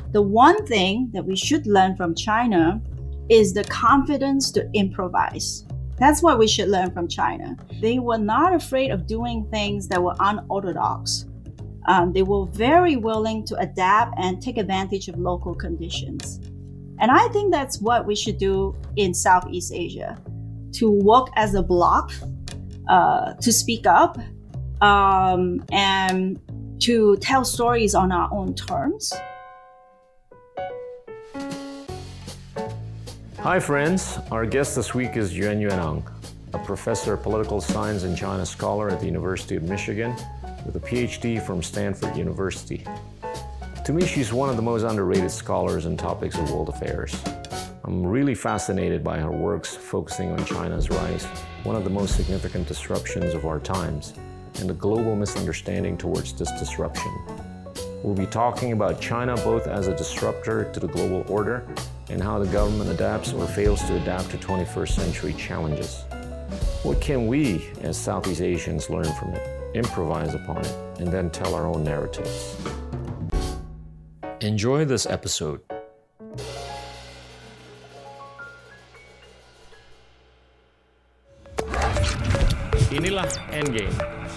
The one thing that we should learn from China is the confidence to improvise. That's what we should learn from China. They were not afraid of doing things that were unorthodox. They were very willing to adapt and take advantage of local conditions. And I think that's what we should do in Southeast Asia, to work as a bloc, to speak up, and to tell stories on our own terms. Hi friends, our guest this week is Yuanyuan Ang, a professor of political science and China scholar at the University of Michigan with a PhD from Stanford University. To me, she's one of the most underrated scholars in topics of world affairs. I'm really fascinated by her works focusing on China's rise, one of the most significant disruptions of our times, and the global misunderstanding towards this disruption. We'll be talking about China both as a disruptor to the global order and how the government adapts or fails to adapt to 21st century challenges. What can we as Southeast Asians learn from it, improvise upon it, and then tell our own narratives? Enjoy this episode. Inilah Endgame.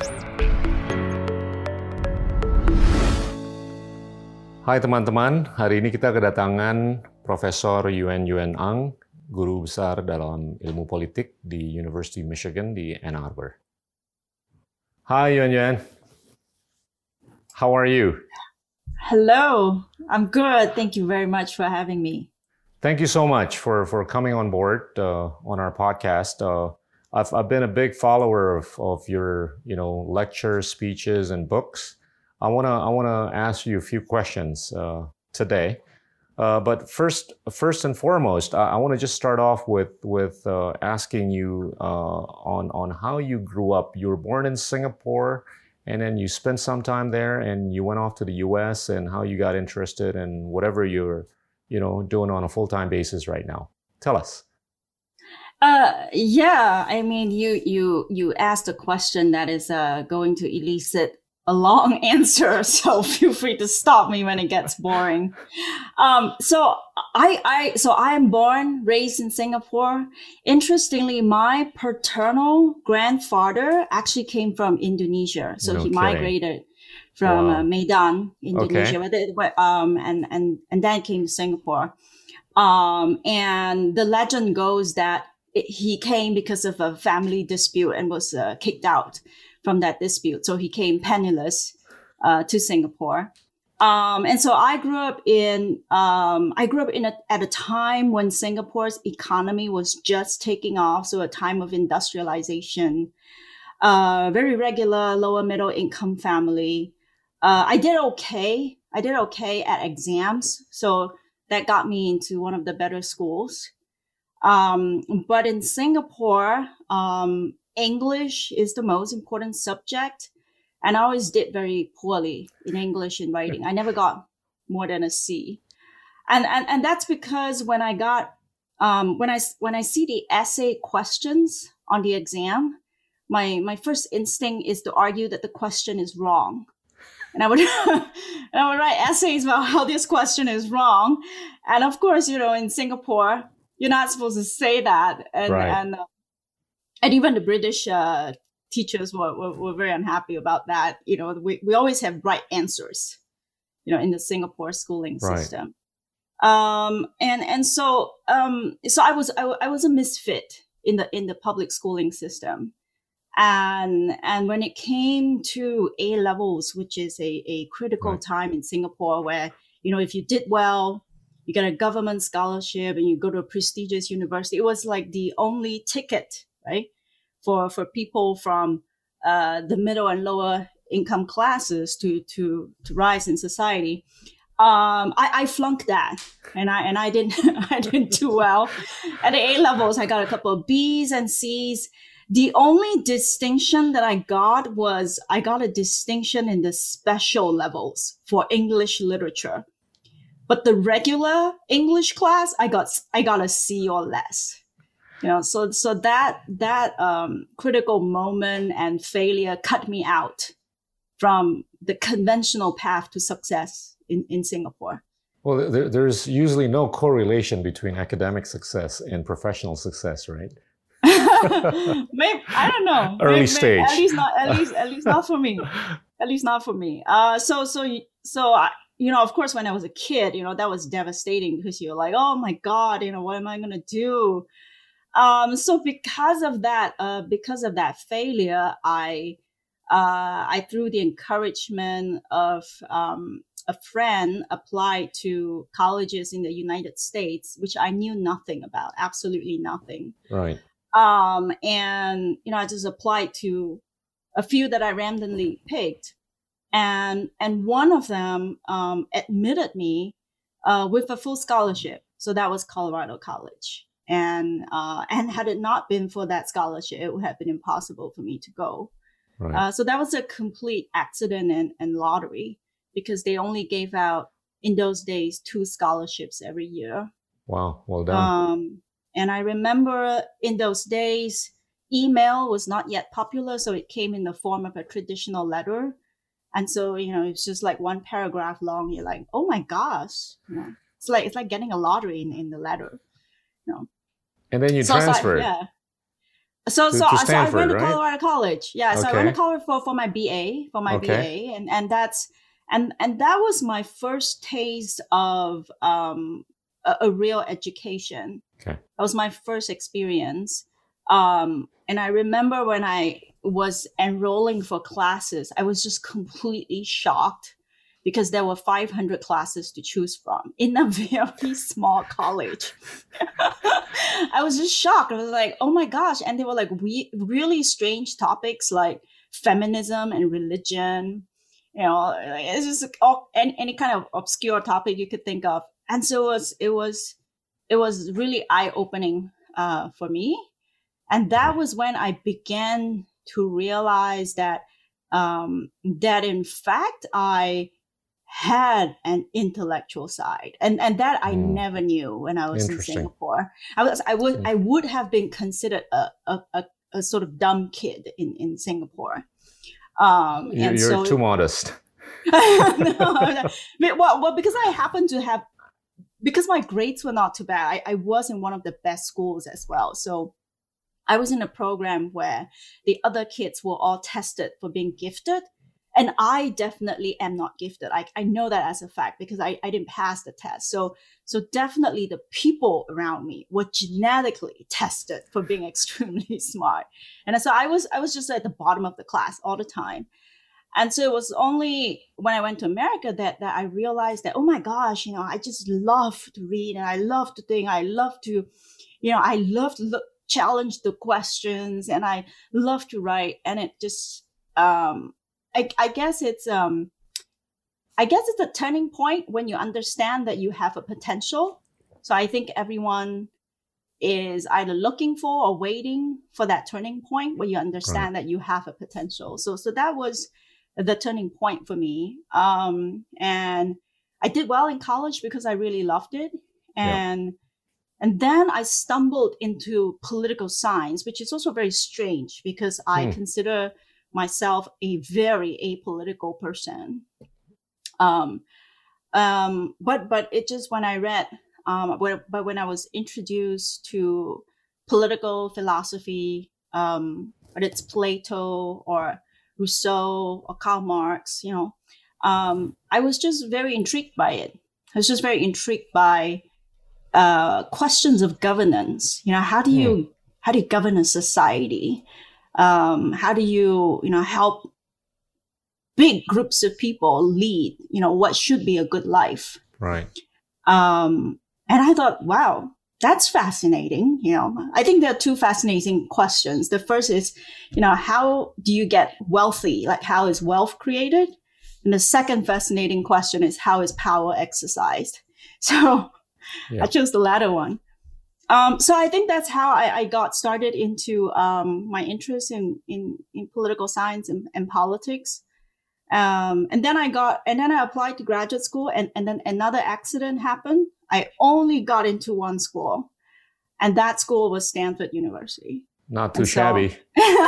Hai teman-teman, hari ini kita kedatangan Profesor Yuanyuan Ang, guru besar dalam ilmu politik di University of Michigan di Ann Arbor. Hi Yuanyuan, how are you? Hello, I'm good. Thank you very much for having me. Thank you so much for coming on board on our podcast. I've been a big follower of your lectures, speeches, and books. I wanna ask you a few questions today. But first and foremost, I want to just start off with asking you on how you grew up. You were born in Singapore, and then you spent some time there, and you went off to the U.S. and how you got interested in whatever you're doing on a full-time basis right now. Tell us. Yeah, I mean, you asked a question that is going to elicit a long answer, so feel free to stop me when it gets boring. So I am born, raised in Singapore. Interestingly, my paternal grandfather actually came from Indonesia, so he migrated from Medan, Indonesia, and then came to Singapore. And the legend goes that he came because of a family dispute and was kicked out from that dispute. So he came penniless to Singapore. And so I grew up at a time when Singapore's economy was just taking off. So a time of industrialization, very regular, lower middle income family. I did okay at exams. So that got me into one of the better schools. But in Singapore, English is the most important subject, and I always did very poorly in English and writing. I never got more than a C, and that's because when I got when I see the essay questions on the exam, my first instinct is to argue that the question is wrong, and I would write essays about how this question is wrong, and of course, in Singapore, you're not supposed to say that, and even the British teachers were very unhappy about that. We always have right answers, in the Singapore schooling system. And so I was a misfit in the public schooling system. And when it came to A levels, which is a critical time in Singapore where, if you did well, you get a government scholarship and you go to a prestigious university, it was like the only ticket, right, for people from the middle and lower income classes to rise in society. I flunked that, and I didn't do well at the A levels. I got a couple of B's and C's. The only distinction that I got was I got a distinction in the special levels for English literature. But the regular English class, I got a C or less. So that critical moment and failure cut me out from the conventional path to success in Singapore. Well, there's usually no correlation between academic success and professional success, right? Maybe, I don't know. Early stage. At least not for me. At least not for me. So I, of course, when I was a kid, that was devastating because you're like, oh my God, what am I gonna do? So because of that failure, I through the encouragement of a friend, applied to colleges in the United States, which I knew nothing about, absolutely nothing. Right. And I just applied to a few that I randomly picked, and one of them admitted me with a full scholarship. So that was Colorado College. And had it not been for that scholarship, it would have been impossible for me to go. Right. So that was a complete accident and lottery, because they only gave out in those days 2 scholarships every year. Wow, well done. And I remember in those days, email was not yet popular, so it came in the form of a traditional letter. And so, it's just like 1 paragraph long. You're like, oh my gosh, it's like getting a lottery in the letter. And then you transferred. Yeah. So I went to Colorado College. Yeah. So I went to college for my BA, BA. And that's, and that was my first taste of a real education. Okay. That was my first experience. And I remember when I was enrolling for classes, I was just completely shocked, because there were 500 classes to choose from in a very small college. I was just shocked. I was like, oh my gosh. And they were like really strange topics like feminism and religion. It's just any kind of obscure topic you could think of. And so it was really eye-opening for me. And that was when I began to realize that in fact I had an intellectual side, and that I never knew when I was in Singapore. I would have been considered a sort of dumb kid in Singapore. You're too modest. Well, because I happened to have, because my grades were not too bad. I was in one of the best schools as well. So I was in a program where the other kids were all tested for being gifted. And I definitely am not gifted. I know that as a fact, because I didn't pass the test. So definitely the people around me were genetically tested for being extremely smart. And so I was just at the bottom of the class all the time. And so it was only when I went to America that I realized that, oh my gosh, I just love to read, and I love to think. I love to, challenge the questions, and I love to write. And it just, I guess it's a turning point when you understand that you have a potential. So I think everyone is either looking for or waiting for that turning point where you understand that you have a potential. So that was the turning point for me. And I did well in college because I really loved it. And then I stumbled into political science, which is also very strange because I consider myself a very apolitical person. But it just, when I read, but when I was introduced to political philosophy, whether it's Plato or Rousseau or Karl Marx, I was just very intrigued by it. I was just very intrigued by questions of governance. How do you govern a society? How do you help big groups of people lead? What should be a good life? Right. And I thought, wow, that's fascinating. I think there are 2 fascinating questions. The first is, how do you get wealthy? Like, how is wealth created? And the second fascinating question is, how is power exercised? So I chose the latter one. So I think that's how I got started into my interest in political science and politics. And then I applied to graduate school, and then another accident happened. I only got into one school, and that school was Stanford University. Not too shabby.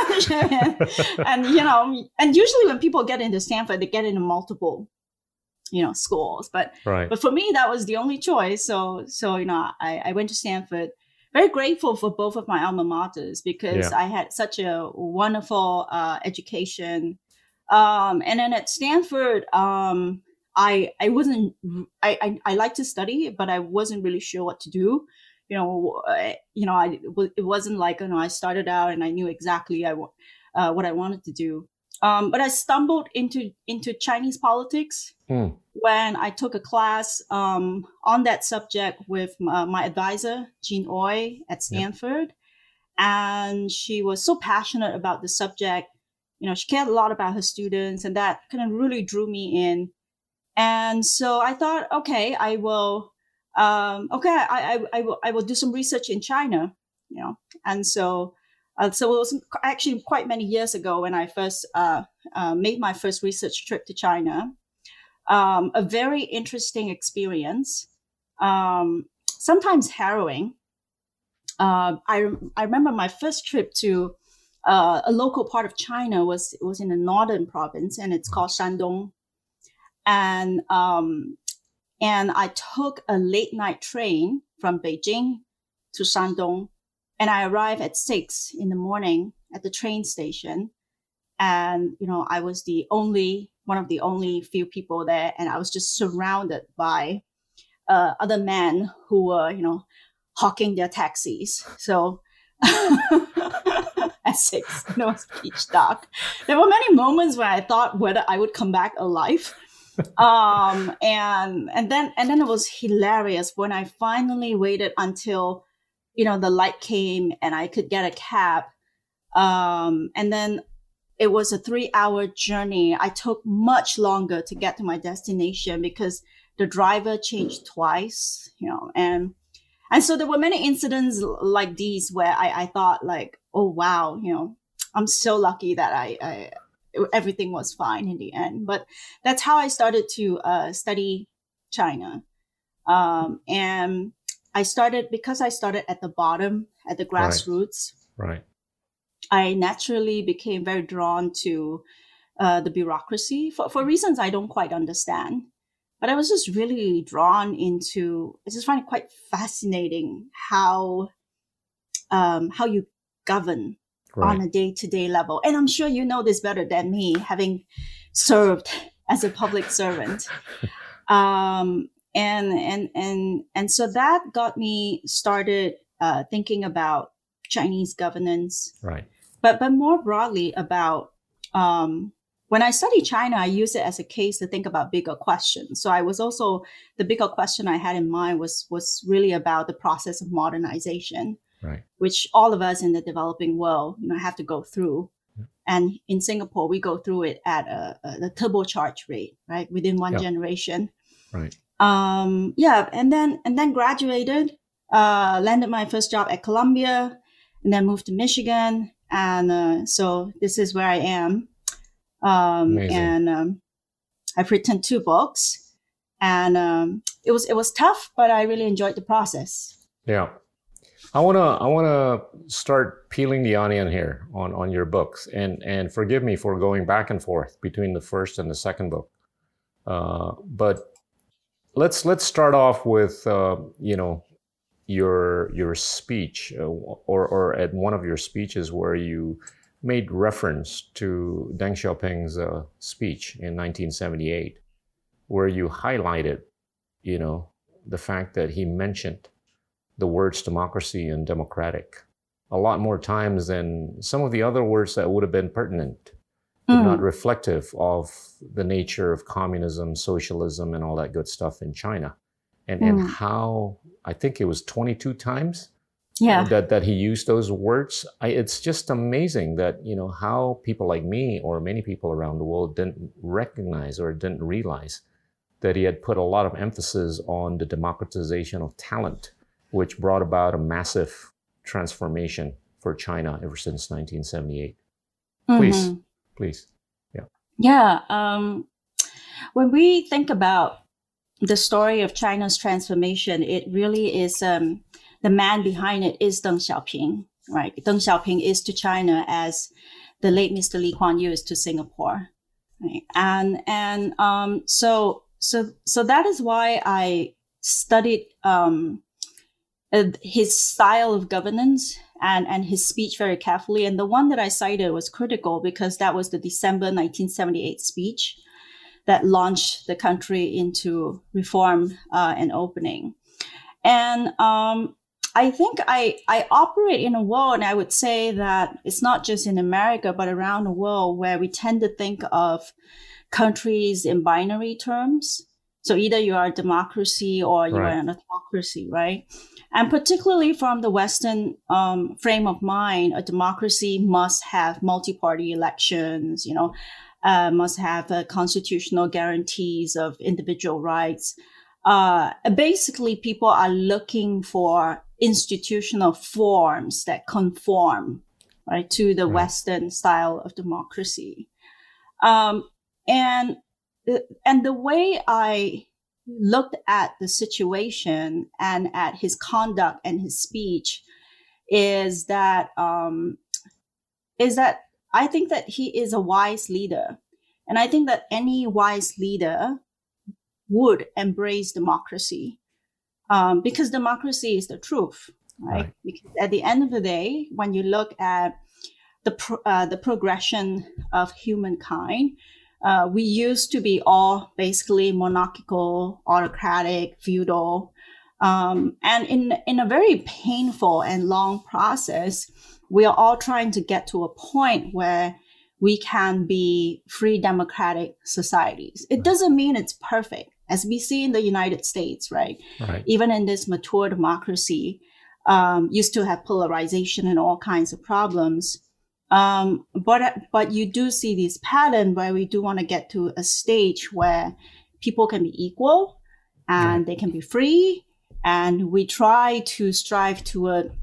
And, and usually when people get into Stanford, they get into multiple schools. But Right. but for me, that was the only choice. So I went to Stanford. Very grateful for both of my alma maters because Yeah. I had such a wonderful education. And then at Stanford, I wasn't I like to study, but I wasn't really sure what to do. It wasn't like I started out and I knew exactly what I wanted to do. But I stumbled into Chinese politics Hmm. when I took a class on that subject with my advisor, Jean Oy at Yeah. Stanford. And she was so passionate about the subject. She cared a lot about her students, and that kind of really drew me in. And so I thought, okay, I will, I will do some research in China, And so it was actually quite many years ago when I first made my first research trip to China. A very interesting experience, sometimes harrowing. I remember my first trip to a local part of China was in the northern province, and it's called Shandong. And I took a late night train from Beijing to Shandong, and I arrived at 6 in the morning at the train station. And I was one of the only few people there, and I was just surrounded by other men who were hawking their taxis. So at 6, it was pitch dark. There were many moments where I thought whether I would come back alive. And then it was hilarious when I finally waited until the light came and I could get a cab. And then it was a 3-hour journey. I took much longer to get to my destination because the driver changed twice, and so there were many incidents like these where I thought like, oh, wow, I'm so lucky that everything was fine in the end. But that's how I started to study China. And because I started at the bottom, at the grassroots. Right. I naturally became very drawn to the bureaucracy for reasons I don't quite understand. But I was just really drawn into. I just find it quite fascinating how you govern on a day-to-day level. And I'm sure you know this better than me, having served as a public servant. And so that got me started thinking about Chinese governance. Right. But more broadly about when I study China, I use it as a case to think about bigger questions. So the bigger question I had in mind was really about the process of modernization, right, which all of us in the developing world, have to go through. Yeah. And in Singapore, we go through it at a turbocharged rate, right, within one generation. Right. And then graduated, landed my first job at Columbia, and then moved to Michigan. And so this is where I am. And I've written 2 books, and it was tough, but I really enjoyed the process. Yeah. I wanna start peeling the onion here on your books, and forgive me for going back and forth between the first and the second book. But let's start off with your speech or at one of your speeches where you made reference to Deng Xiaoping's speech in 1978, where you highlighted, the fact that he mentioned the words democracy and democratic a lot more times than some of the other words that would have been pertinent, but not reflective of the nature of communism, socialism, and all that good stuff in China. And how, I think it was 22 times that he used those words. It's just amazing that, how people like me or many people around the world didn't recognize or didn't realize that he had put a lot of emphasis on the democratization of talent, which brought about a massive transformation for China ever since 1978. Please. Yeah. Yeah. When we think about the story of China's transformation, it really is the man behind it is Deng Xiaoping, right? Deng Xiaoping is to China as the late Mr. Lee Kuan Yew is to Singapore, right? And so so that is why I studied his style of governance and his speech very carefully. And the one that I cited was critical because that was the December 1978 speech that launched the country into reform and opening. And I think I operate in a world, and I would say that it's not just in America, but around the world, where we tend to think of countries in binary terms. So either you are a democracy or you are an autocracy, right? And particularly from the Western frame of mind, a democracy must have multi-party elections, must have constitutional guarantees of individual rights. Basically, people are looking for institutional forms that conform, right, to the Western style of democracy. And the way I looked at the situation and at his conduct and his speech is that I think that he is a wise leader. And I think that any wise leader would embrace democracy because democracy is the truth, right? Because at the end of the day, when you look at the progression of humankind, we used to be all basically monarchical, autocratic, feudal. And in a very painful and long process, we are all trying to get to a point where we can be free democratic societies. It doesn't mean it's perfect, as we see in the United States, right? Even in this mature democracy, you still have polarization and all kinds of problems. But you do see this pattern where we do want to get to a stage where people can be equal and they can be free. And we try to strive toward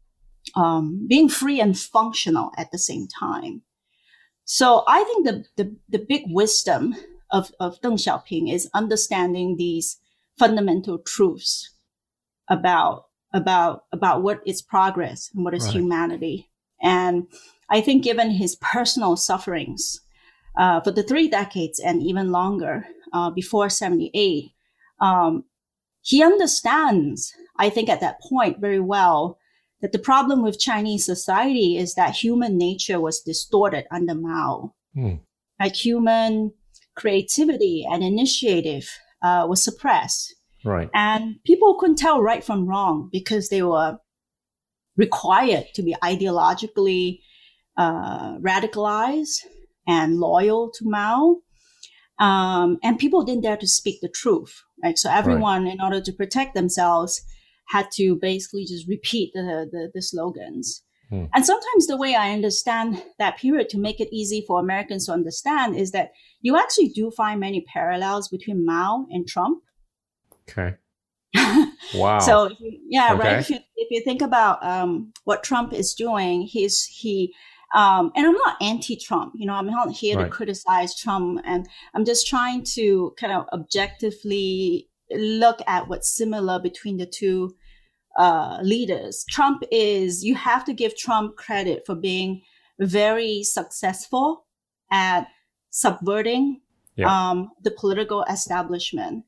being free and functional at the same time. So I think the big wisdom of Deng Xiaoping is understanding these fundamental truths about what is progress and what is humanity. And I think given his personal sufferings for the 3 decades and even longer before 78, he understands, I think at that point very well, that the problem with Chinese society is that human nature was distorted under Mao. Like human creativity and initiative was suppressed. And people couldn't tell right from wrong because they were required to be ideologically radicalized and loyal to Mao. And people didn't dare to speak the truth, right? So everyone, in order to protect themselves, had to basically just repeat the slogans. And sometimes the way I understand that period to make it easy for Americans to understand is that you actually do find many parallels between Mao and Trump. Okay. Wow. So right. If you think about what Trump is doing, and I'm not anti-Trump, I'm not here to criticize Trump, and I'm just trying to kind of objectively look at what's similar between the two leaders. You have to give Trump credit for being very successful at subverting the political establishment.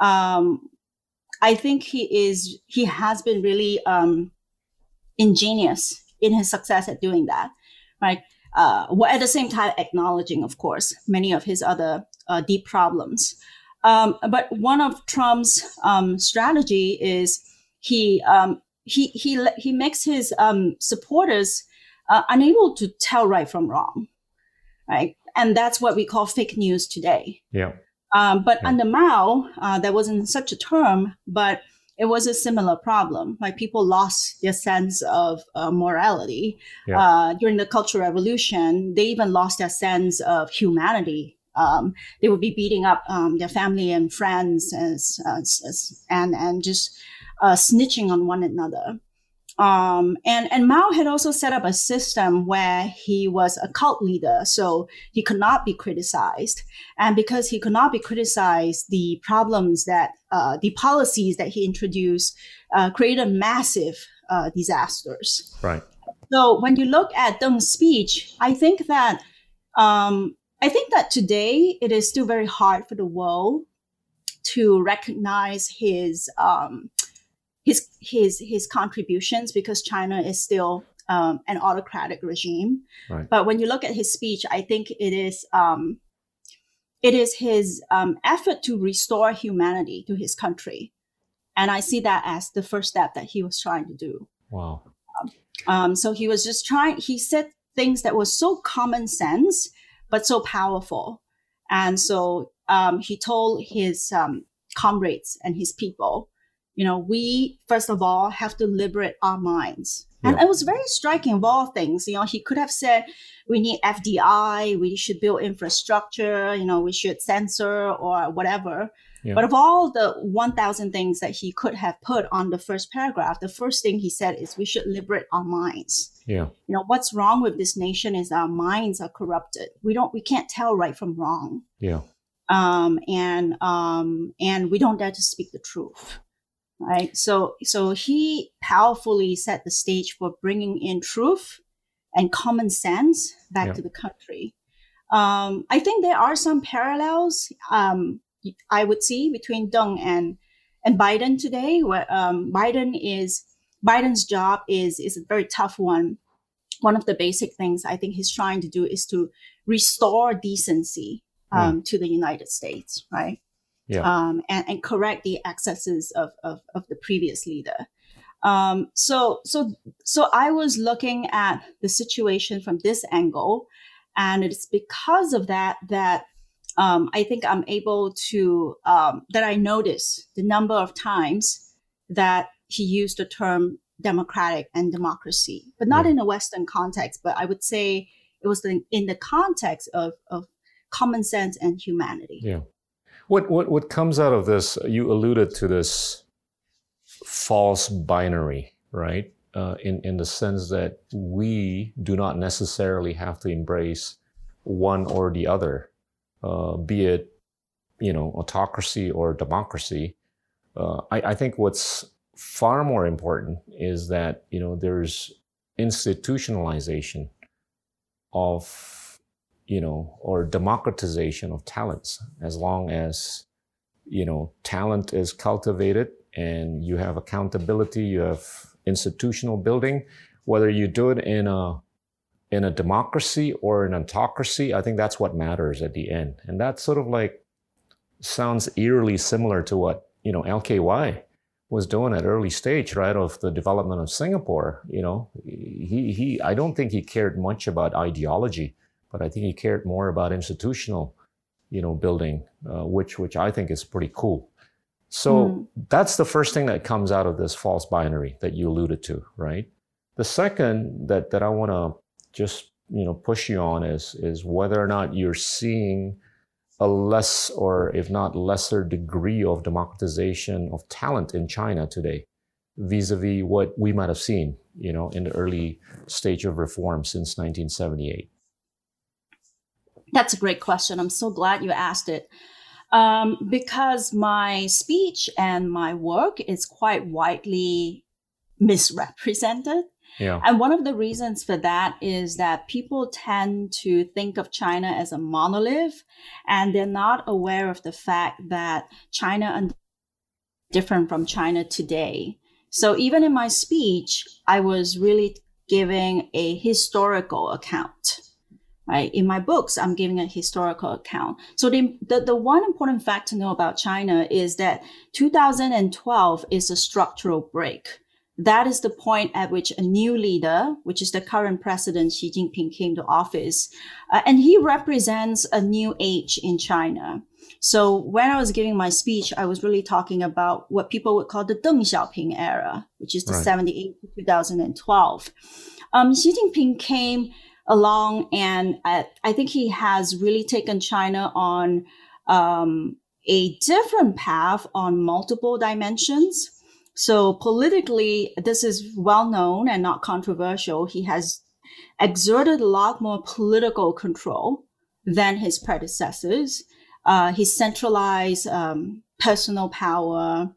I think he has been really ingenious in his success at doing that, right? While at the same time acknowledging, of course, many of his other deep problems. But one of Trump's strategy is he makes his supporters unable to tell right from wrong, right? And that's what we call fake news today. But under Mao, there wasn't such a term, but it was a similar problem. Like people lost their sense of morality during the Cultural Revolution. They even lost their sense of humanity. They would be beating up their family and friends and just snitching on one another. And Mao had also set up a system where he was a cult leader, so he could not be criticized. And because he could not be criticized, the problems that the policies that he introduced created massive disasters. So when you look at Deng's speech, I think that today it is still very hard for the world to recognize his contributions, because China is still an autocratic regime. Right. But when you look at his speech, I think it is his effort to restore humanity to his country. And I see that as the first step that he was trying to do. Wow. So he was just he said things that was so common sense, but so powerful. And so he told his comrades and his people, we, first of all, have to liberate our minds. And it was very striking of all things. He could have said, we need FDI, we should build infrastructure, we should censor or whatever. Yeah. But of all the 1,000 things that he could have put on the first paragraph, the first thing he said is we should liberate our minds. Yeah. What's wrong with this nation is our minds are corrupted. We can't tell right from wrong. Yeah. And we don't dare to speak the truth. Right. So he powerfully set the stage for bringing in truth and common sense back to the country. I think there are some parallels I would see between Deng and Biden today, where Biden's job is a very tough one. One of the basic things I think he's trying to do is to restore decency to the United States, right? Yeah. And correct the excesses of the previous leader. So I was looking at the situation from this angle, and it's because of that I think I'm able to, that I notice the number of times that he used the term democratic and democracy, but not in a Western context, but I would say it was in the context of common sense and humanity. Yeah. What comes out of this, you alluded to this false binary, right? In the sense that we do not necessarily have to embrace one or the other. Be it, autocracy or democracy. I think what's far more important is that, there's institutionalization of, or democratization of talents. As long as, talent is cultivated and you have accountability, you have institutional building, whether you do it in a democracy or an autocracy, I think that's what matters at the end. And that sort of sounds eerily similar to what, LKY was doing at early stage, right, of the development of Singapore. I don't think he cared much about ideology, but I think he cared more about institutional, building, which I think is pretty cool. So that's the first thing that comes out of this false binary that you alluded to, right? The second that I want to just push you on is whether or not you're seeing a less, or if not lesser, degree of democratization of talent in China today, vis-a-vis what we might have seen, in the early stage of reform since 1978. That's a great question. I'm so glad you asked it, because my speech and my work is quite widely misrepresented. Yeah. And one of the reasons for that is that people tend to think of China as a monolith, and they're not aware of the fact that China is different from China today. So even in my speech, I was really giving a historical account, right? In my books, I'm giving a historical account. So the one important fact to know about China is that 2012 is a structural break. That is the point at which a new leader, which is the current president, Xi Jinping, came to office. And he represents a new age in China. So when I was giving my speech, I was really talking about what people would call the Deng Xiaoping era, which is the 78 to 2012. Xi Jinping came along, and I think he has really taken China on a different path on multiple dimensions. So politically, this is well known and not controversial. He has exerted a lot more political control than his predecessors. He centralized personal power.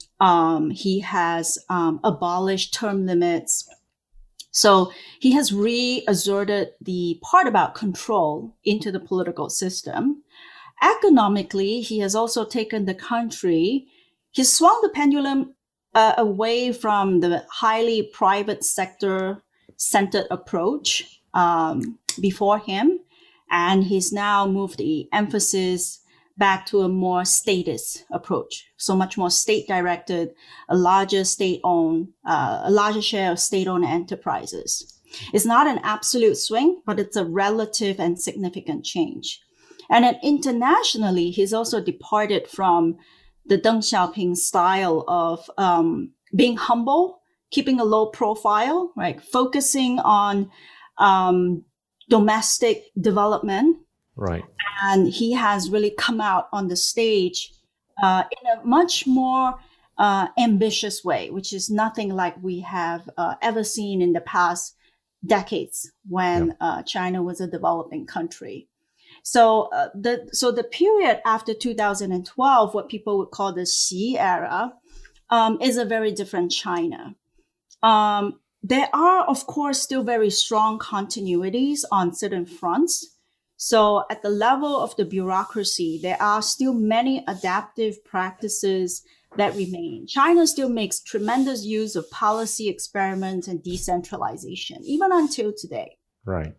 He has abolished term limits. So he has reasserted the part about control into the political system. Economically, he has also taken the country, he swung the pendulum away from the highly private sector centered approach before him. And he's now moved the emphasis back to a more statist approach. So much more state directed, a larger state-owned, a larger share of state-owned enterprises. It's not an absolute swing, but it's a relative and significant change. And then internationally, he's also departed from the Deng Xiaoping style of being humble, keeping a low profile, right? Focusing on domestic development. Right. And he has really come out on the stage in a much more ambitious way, which is nothing like we have ever seen in the past decades when China was a developing country. So the period after 2012, what people would call the Xi era, is a very different China. There are, of course, still very strong continuities on certain fronts. So at the level of the bureaucracy, there are still many adaptive practices that remain. China still makes tremendous use of policy experiments and decentralization, even until today. Right.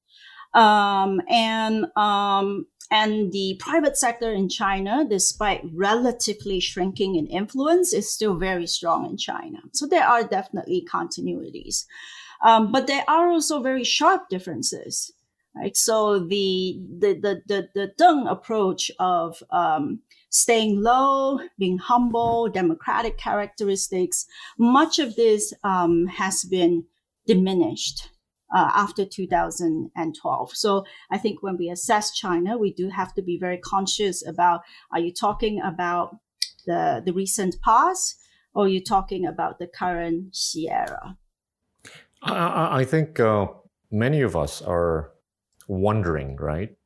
And the private sector in China, despite relatively shrinking in influence, is still very strong in China. So there are definitely continuities. But there are also very sharp differences. Right. So the Deng approach of staying low, being humble, democratic characteristics, much of this has been diminished after 2012. So I think when we assess China, we do have to be very conscious about, are you talking about the recent past, or are you talking about the current Xi era? I think many of us are wondering, right,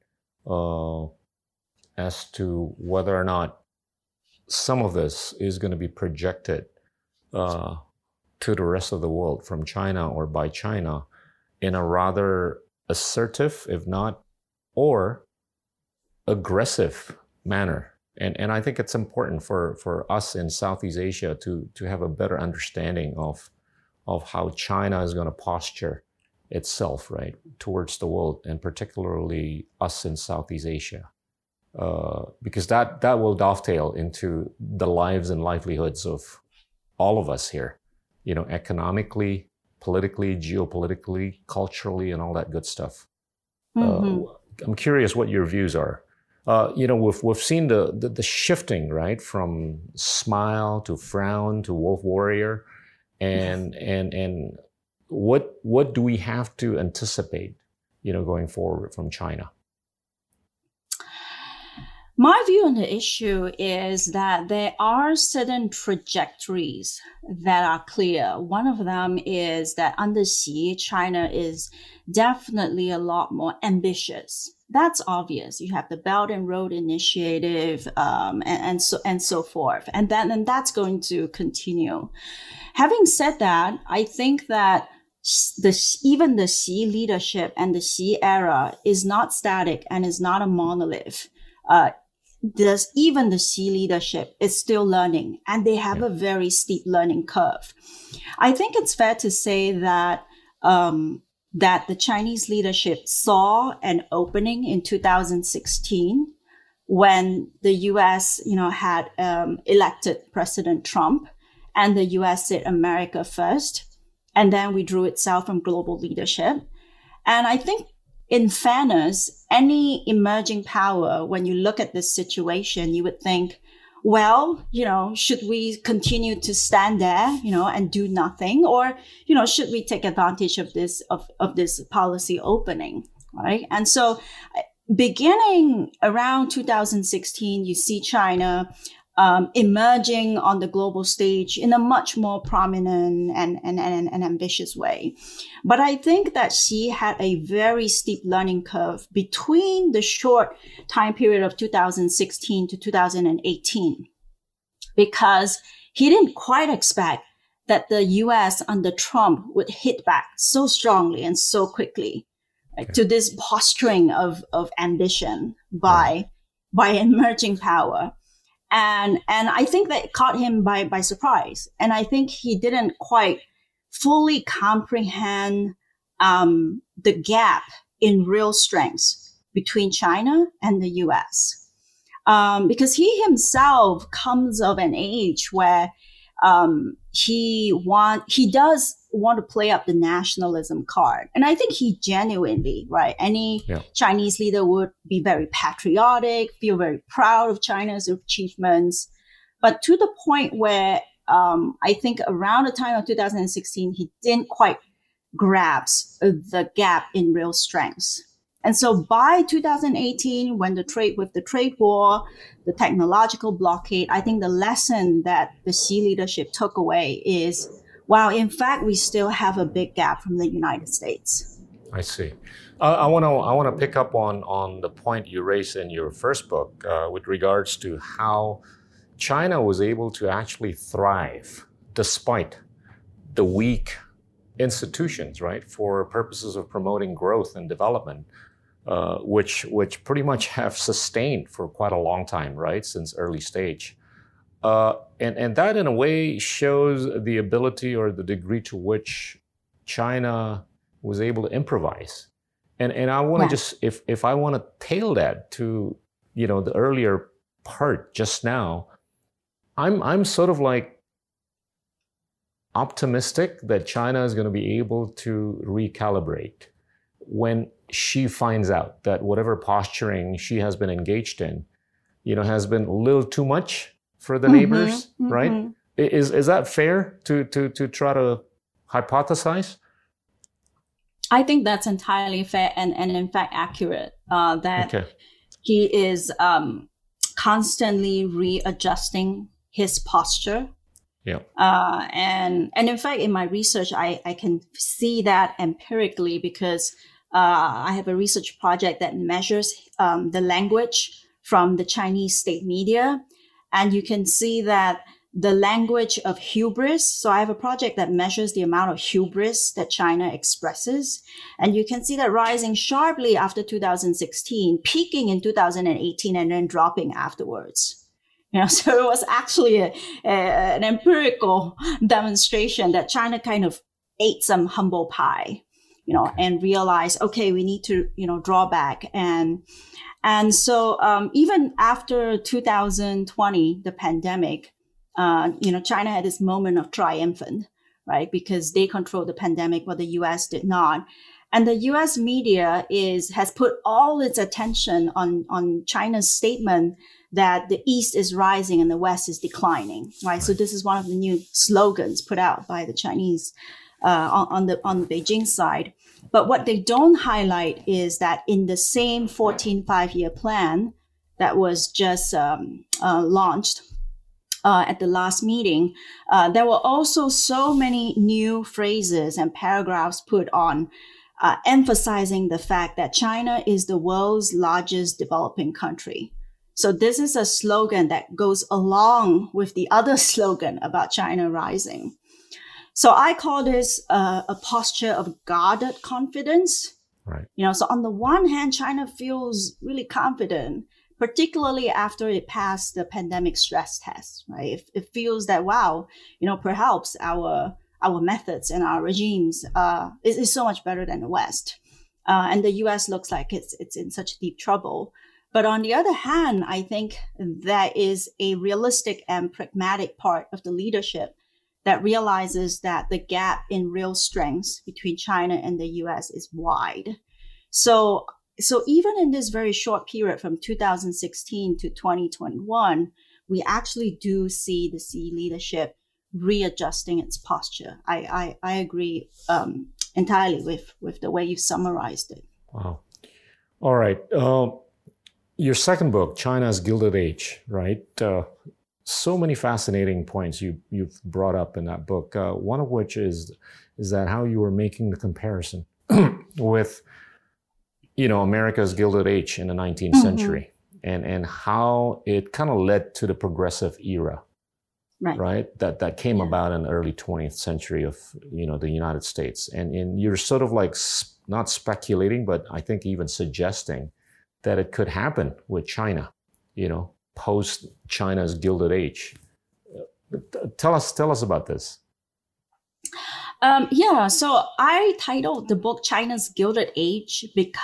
as to whether or not some of this is going to be projected to the rest of the world from China or by China in a rather assertive, if not, or aggressive manner. And I think it's important for us in Southeast Asia to have a better understanding of how China is going to posture itself, right, towards the world, and particularly us in Southeast Asia, because that will dovetail into the lives and livelihoods of all of us here, you know, economically, politically, geopolitically, culturally, and all that good stuff. Mm-hmm. I'm curious what your views are. You know, we've seen the shifting, right, from smile to frown to wolf warrior, and what do we have to anticipate, you know, going forward from China? My view on the issue is that there are certain trajectories that are clear. One of them is that under Xi, China is definitely a lot more ambitious. That's obvious. You have the Belt and Road Initiative, and so forth, and that's going to continue. Having said that, I think that even the Xi leadership and the Xi era is not static and is not a monolith. Even the Xi leadership is still learning, and they have a very steep learning curve. I think it's fair to say that that the Chinese leadership saw an opening in 2016 when the U.S., you know, had elected President Trump, and the U.S. said America first, and then withdrew itself from global leadership. And I think, in fairness, any emerging power, when you look at this situation, you would think, well, you know, should we continue to stand there, you know, and do nothing? Or, you know, should we take advantage of this policy opening, right? And so beginning around 2016, you see China emerging on the global stage in a much more prominent and ambitious way. But I think that Xi had a very steep learning curve between the short time period of 2016 to 2018, because he didn't quite expect that the US under Trump would hit back so strongly and so quickly to this posturing of ambition by by an emerging power. And I think that caught him by surprise. And I think he didn't quite fully comprehend the gap in real strengths between China and the US. Because he himself comes of an age where he does want to play up the nationalism card. And I think he genuinely, right, any Chinese leader would be very patriotic, feel very proud of China's achievements. But to the point where I think around the time of 2016, he didn't quite grasp the gap in real strengths. And so by 2018, when the trade war, the technological blockade, I think the lesson that the Xi leadership took away is, wow, in fact, we still have a big gap from the United States. I see. I want to pick up on the point you raised in your first book with regards to how China was able to actually thrive despite the weak institutions, right, for purposes of promoting growth and development, which pretty much have sustained for quite a long time, right, since early stage. And that in a way shows the ability or the degree to which China was able to improvise. And I want to just, if I want to tail that to, the earlier part just now, I'm sort of like optimistic that China is going to be able to recalibrate when she finds out that whatever posturing she has been engaged in, has been a little too much for the neighbors, right? Is that fair to try to hypothesize? I think that's entirely fair and in fact accurate. He is constantly readjusting his posture. Yeah. And in fact, in my research, I can see that empirically because I have a research project that measures the language from the Chinese state media. And you can see that the language of hubris. So I have a project that measures the amount of hubris that China expresses. And you can see that rising sharply after 2016, peaking in 2018, and then dropping afterwards. So it was actually an empirical demonstration that China kind of ate some humble pie, and realized, okay, we need to, draw back. And so even after 2020, the pandemic, China had this moment of triumphant, right? Because they controlled the pandemic, while the US did not. And the US media has put all its attention on China's statement that the East is rising and the West is declining, right? So this is one of the new slogans put out by the Chinese on the Beijing side. But what they don't highlight is that in the same 14 5-year plan that was just launched at the last meeting, there were also so many new phrases and paragraphs put on emphasizing the fact that China is the world's largest developing country. So this is a slogan that goes along with the other slogan about China rising. So I call this a posture of guarded confidence. Right. So on the one hand, China feels really confident, particularly after it passed the pandemic stress test, right? It feels that, wow, perhaps our methods and our regimes is so much better than the West. And the US looks like it's in such deep trouble. But on the other hand, I think that is a realistic and pragmatic part of the leadership that realizes that the gap in real strengths between China and the US is wide. So even in this very short period from 2016 to 2021, we actually do see the Xi leadership readjusting its posture. I agree entirely with the way you summarized it. Wow. All right. Your second book, China's Gilded Age, right? So many fascinating points you've brought up in that book. One of which is that how you were making the comparison with, America's Gilded Age in the 19th century, and how it kind of led to the progressive era, right? That came about in the early 20th century of the United States, and you're sort of like not speculating, but I think even suggesting that it could happen with China, post China's Gilded Age. Tell us about this. So I titled the book China's Gilded Age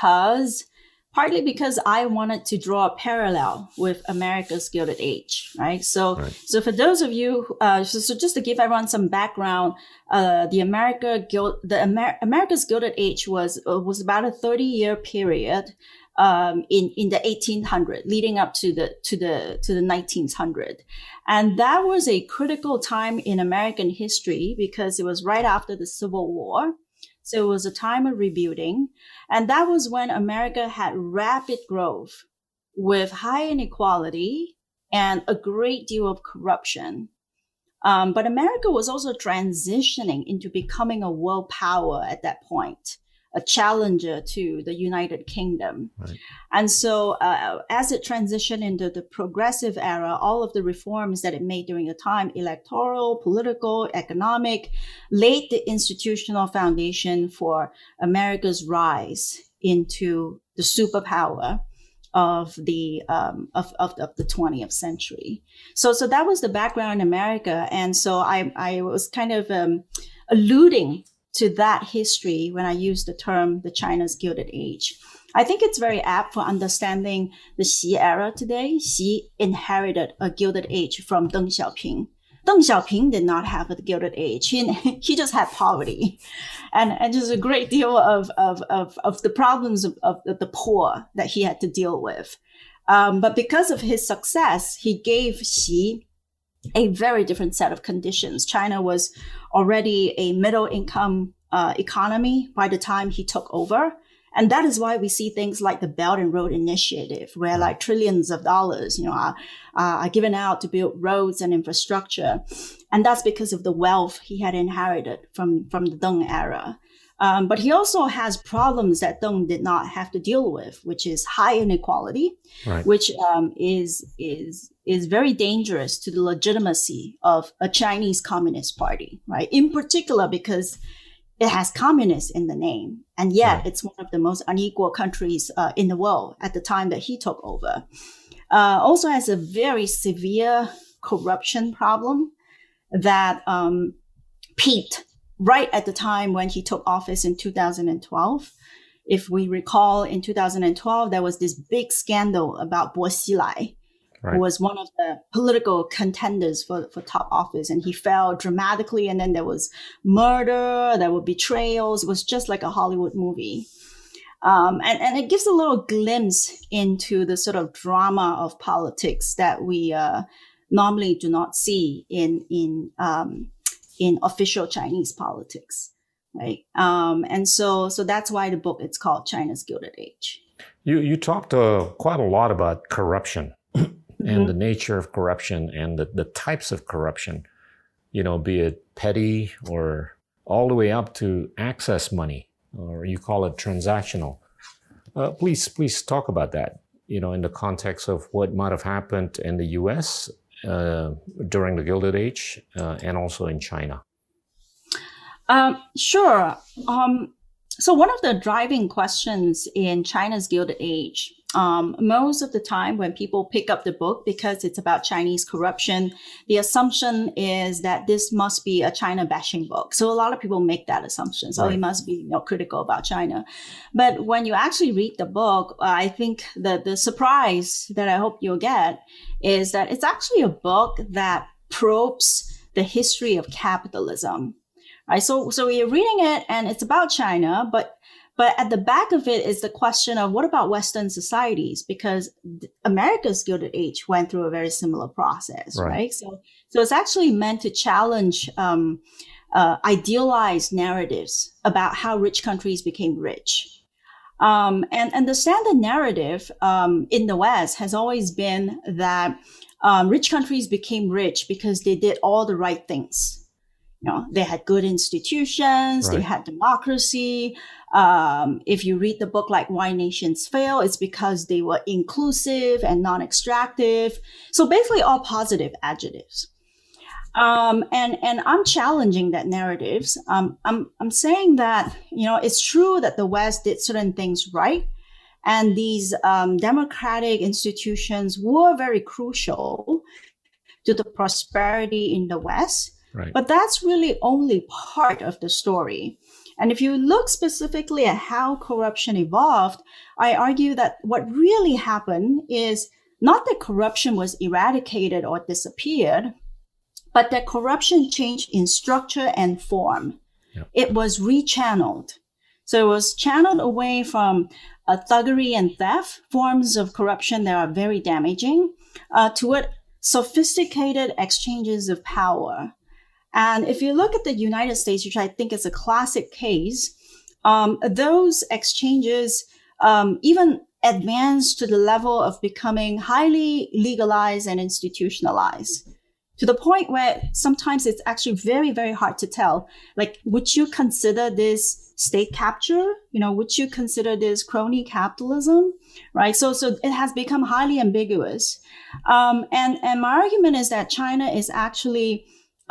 partly because I wanted to draw a parallel with America's Gilded Age, right? So for those of you, so just to give everyone some background, America's Gilded Age was about a 30-year period in the 1800s, leading up to the 1900s. And that was a critical time in American history because it was right after the Civil War. So it was a time of rebuilding. And that was when America had rapid growth with high inequality and a great deal of corruption. But America was also transitioning into becoming a world power at that point, a challenger to the United Kingdom. Right. And so as it transitioned into the progressive era, all of the reforms that it made during the time, electoral, political, economic, laid the institutional foundation for America's rise into the superpower of the 20th century. So that was the background in America. And so I was kind of alluding to that history when I use the term the China's Gilded Age. I think it's very apt for understanding the Xi era today. Xi inherited a Gilded Age from Deng Xiaoping. Deng Xiaoping did not have a Gilded Age. He just had poverty and just a great deal of the problems of the poor that he had to deal with. But because of his success, he gave Xi a very different set of conditions. China was already a middle income economy by the time he took over. And that is why we see things like the Belt and Road Initiative, where like trillions of dollars, are given out to build roads and infrastructure. And that's because of the wealth he had inherited from the Deng era. But he also has problems that Deng did not have to deal with, which is high inequality, right, which is very dangerous to the legitimacy of a Chinese Communist Party, right? In particular, because it has communists in the name, and yet right, it's one of the most unequal countries in the world at the time that he took over. Also has a very severe corruption problem that peaked right at the time when he took office in 2012. If we recall, in 2012, there was this big scandal about Bo Xilai, right, who was one of the political contenders for top office, and he fell dramatically. And then there was murder, there were betrayals. It was just like a Hollywood movie. And it gives a little glimpse into the sort of drama of politics that we normally do not see in official Chinese politics, right? And so that's why the book, it's called China's Gilded Age. You talked quite a lot about corruption and the nature of corruption and the types of corruption, be it petty or all the way up to access money, or you call it transactional. Please talk about that, in the context of what might have happened in the U.S. During the Gilded Age and also in China. Sure. So one of the driving questions in China's Gilded Age, most of the time when people pick up the book, because it's about Chinese corruption, the assumption is that this must be a China bashing book. So a lot of people make that assumption. So it must be critical about China. But when you actually read the book, I think that the surprise that I hope you'll get is that it's actually a book that probes the history of capitalism. Right. So you're reading it and it's about China, but at the back of it is the question of what about Western societies? Because America's Gilded Age went through a very similar process, right? So it's actually meant to challenge idealized narratives about how rich countries became rich. And the standard narrative in the West has always been that rich countries became rich because they did all the right things. They had good institutions, right, they had democracy. If you read the book like Why Nations Fail, it's because they were inclusive and non-extractive. So basically all positive adjectives. And I'm challenging that narratives. I'm saying that, it's true that the West did certain things right. And these democratic institutions were very crucial to the prosperity in the West. Right. But that's really only part of the story. And if you look specifically at how corruption evolved, I argue that what really happened is not that corruption was eradicated or disappeared, but that corruption changed in structure and form. Yep. It was rechanneled. So it was channeled away from thuggery and theft, forms of corruption that are very damaging, toward sophisticated exchanges of power. And if you look at the United States, which I think is a classic case, those exchanges even advanced to the level of becoming highly legalized and institutionalized, to the point where sometimes it's actually very, very hard to tell. Like, would you consider this state capture? Would you consider this crony capitalism? Right? So it has become highly ambiguous. And my argument is that China is actually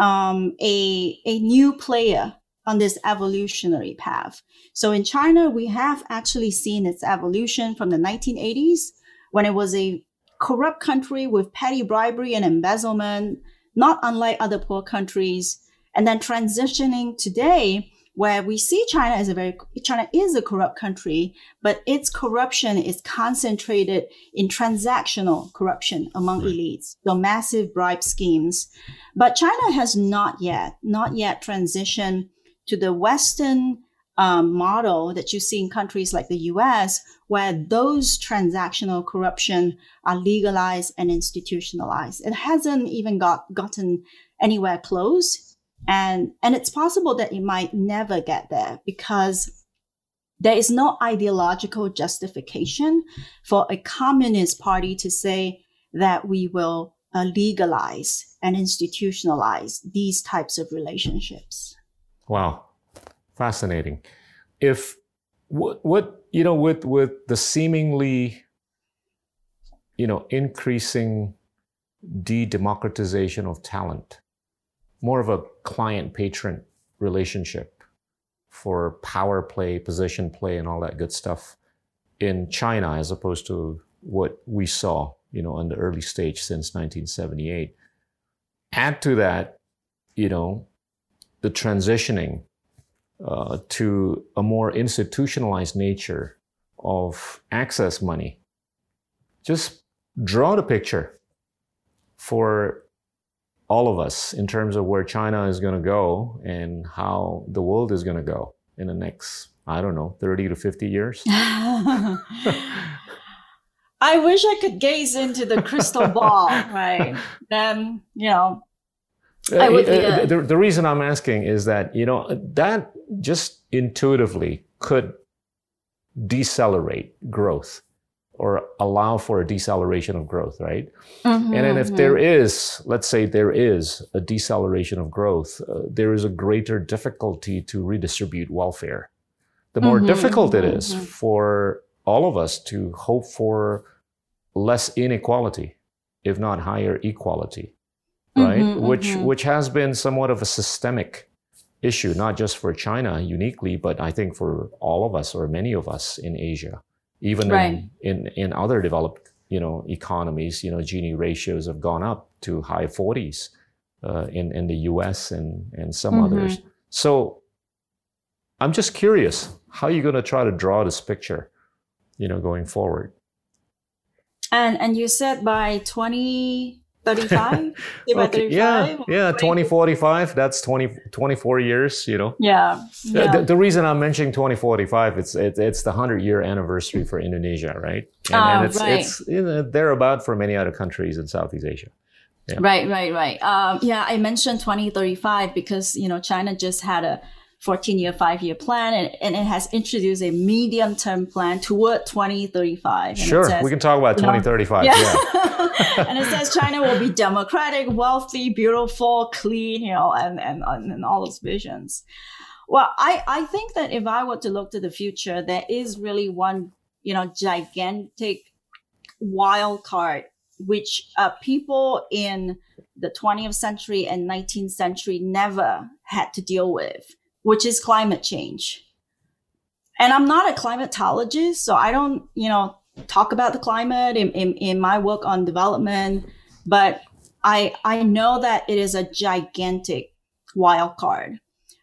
a new player on this evolutionary path. So in China, we have actually seen its evolution from the 1980s, when it was a corrupt country with petty bribery and embezzlement, not unlike other poor countries, and then transitioning today, where we see China is a corrupt country, but its corruption is concentrated in transactional corruption among elites, so massive bribe schemes. But China has not yet transitioned to the Western model that you see in countries like the US, where those transactional corruption are legalized and institutionalized. It hasn't even gotten anywhere close. And it's possible that it might never get there, because there is no ideological justification for a communist party to say that we will legalize and institutionalize these types of relationships. Wow. Fascinating. If with the seemingly, increasing de-democratization of talent, more of a client-patron relationship for power play, position play, and all that good stuff in China, as opposed to what we saw, in the early stage since 1978. Add to that, the transitioning to a more institutionalized nature of access money. Just draw the picture for all of us in terms of where China is going to go and how the world is going to go in the next, 30 to 50 years. I wish I could gaze into the crystal ball, right? Then, I would be the reason I'm asking is that, that just intuitively could decelerate growth, or allow for a deceleration of growth, right? Mm-hmm, and then if there is, let's say there is a deceleration of growth, there is a greater difficulty to redistribute welfare. The more difficult it is for all of us to hope for less inequality, if not higher equality, right? Which has been somewhat of a systemic issue, not just for China uniquely, but I think for all of us, or many of us in Asia. Even in other developed, economies, Gini ratios have gone up to high 40s in the US and some others. So I'm just curious, how are you going to try to draw this picture, going forward? And you said by 2035? Okay, yeah, 2045, that's 24 years, Yeah. The reason I'm mentioning 2045, it's the 100-year anniversary for Indonesia, right? And it's thereabout for many other countries in Southeast Asia. Yeah. Right. I mentioned 2035 because, China just had a 14-year, 5-year plan, and it has introduced a medium-term plan toward 2035. Sure, we can talk about 2035. Yeah. And it says China will be democratic, wealthy, beautiful, clean, and all those visions. Well, I think that if I were to look to the future, there is really one, gigantic wild card, which people in the 20th century and 19th century never had to deal with, which is climate change. And I'm not a climatologist, so I don't, talk about the climate in my work on development, but I know that it is a gigantic wild card.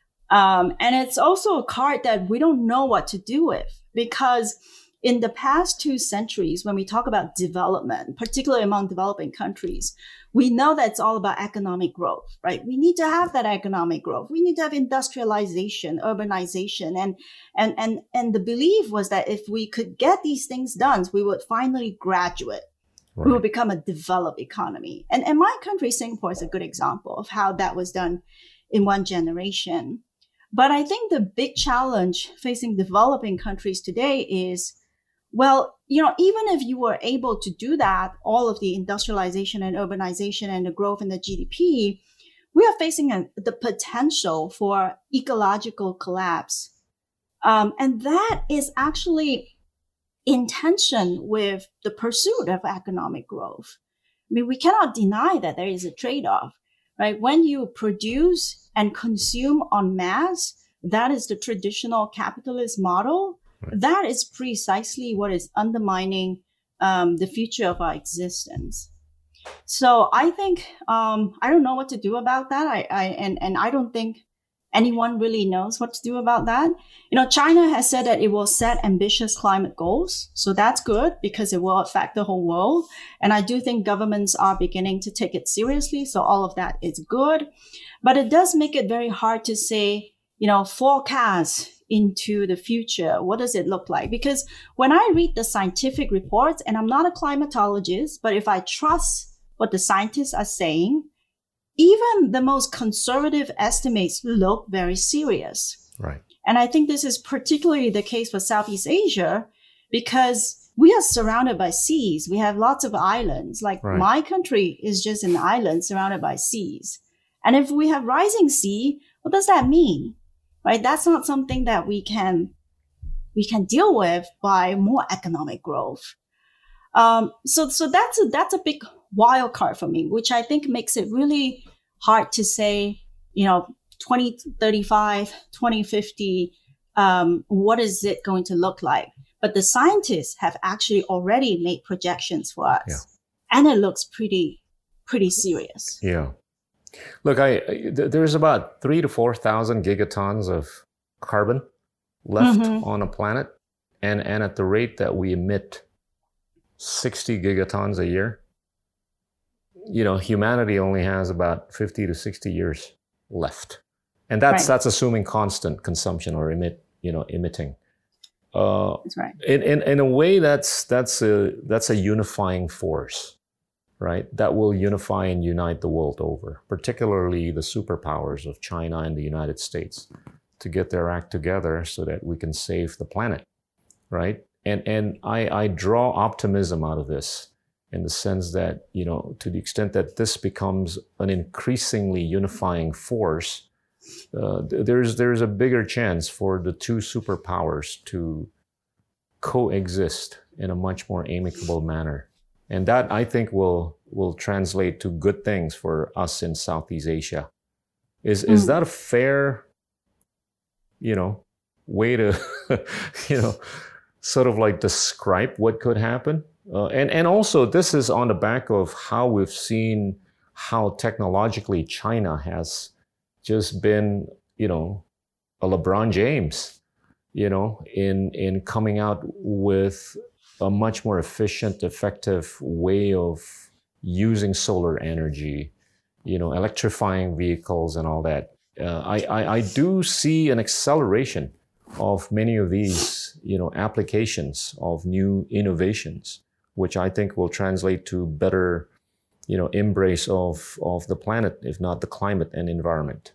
And it's also a card that we don't know what to do with, because in the past 2 centuries, when we talk about development, particularly among developing countries, we know that it's all about economic growth, right? We need to have that economic growth. We need to have industrialization, urbanization. And the belief was that if we could get these things done, we would finally graduate. Right. We would become a developed economy. And my country, Singapore, is a good example of how that was done in one generation. But I think the big challenge facing developing countries today is, well, even if you were able to do that, all of the industrialization and urbanization and the growth in the GDP, we are facing the potential for ecological collapse. And that is actually in tension with the pursuit of economic growth. I mean, we cannot deny that there is a trade-off, right? When you produce and consume en masse, that is the traditional capitalist model. Right. That is precisely what is undermining the future of our existence. So I think I don't know what to do about that. I don't think anyone really knows what to do about that. China has said that it will set ambitious climate goals. So that's good because it will affect the whole world. And I do think governments are beginning to take it seriously. So all of that is good. But it does make it very hard to say, forecast into the future. What does it look like? Because when I read the scientific reports, and I'm not a climatologist, but if I trust what the scientists are saying, even the most conservative estimates look very serious. Right. And I think this is particularly the case for Southeast Asia because we are surrounded by seas. We have lots of islands. Like right. My country is just an island surrounded by seas. And if we have rising sea, what does that mean? Right? That's not something that we can deal with by more economic growth. So that's a big wild card for me, which I think makes it really hard to say, 2035, 2050, what is it going to look like? But the scientists have actually already made projections for us. Yeah. And it looks pretty serious. Yeah. Look, there's about 3,000 to 4,000 gigatons of carbon left on a planet. And at the rate that we emit 60 gigatons a year, humanity only has about 50 to 60 years left. And that's assuming constant consumption or emitting. That's right. In a way, that's a unifying force, right? That will unify and unite the world over, particularly the superpowers of China and the United States, to get their act together so that we can save the planet, right? And I draw optimism out of this in the sense that, to the extent that this becomes an increasingly unifying force, there's a bigger chance for the two superpowers to coexist in a much more amicable manner. And that, I think, will translate to good things for us in Southeast Asia. Is that a fair, way to, sort of like describe what could happen? And also, this is on the back of how we've seen how technologically China has just been, a LeBron James, in coming out with a much more efficient, effective way of using solar energy, electrifying vehicles and all that. I do see an acceleration of many of these, applications of new innovations, which I think will translate to better, embrace of the planet, if not the climate and environment.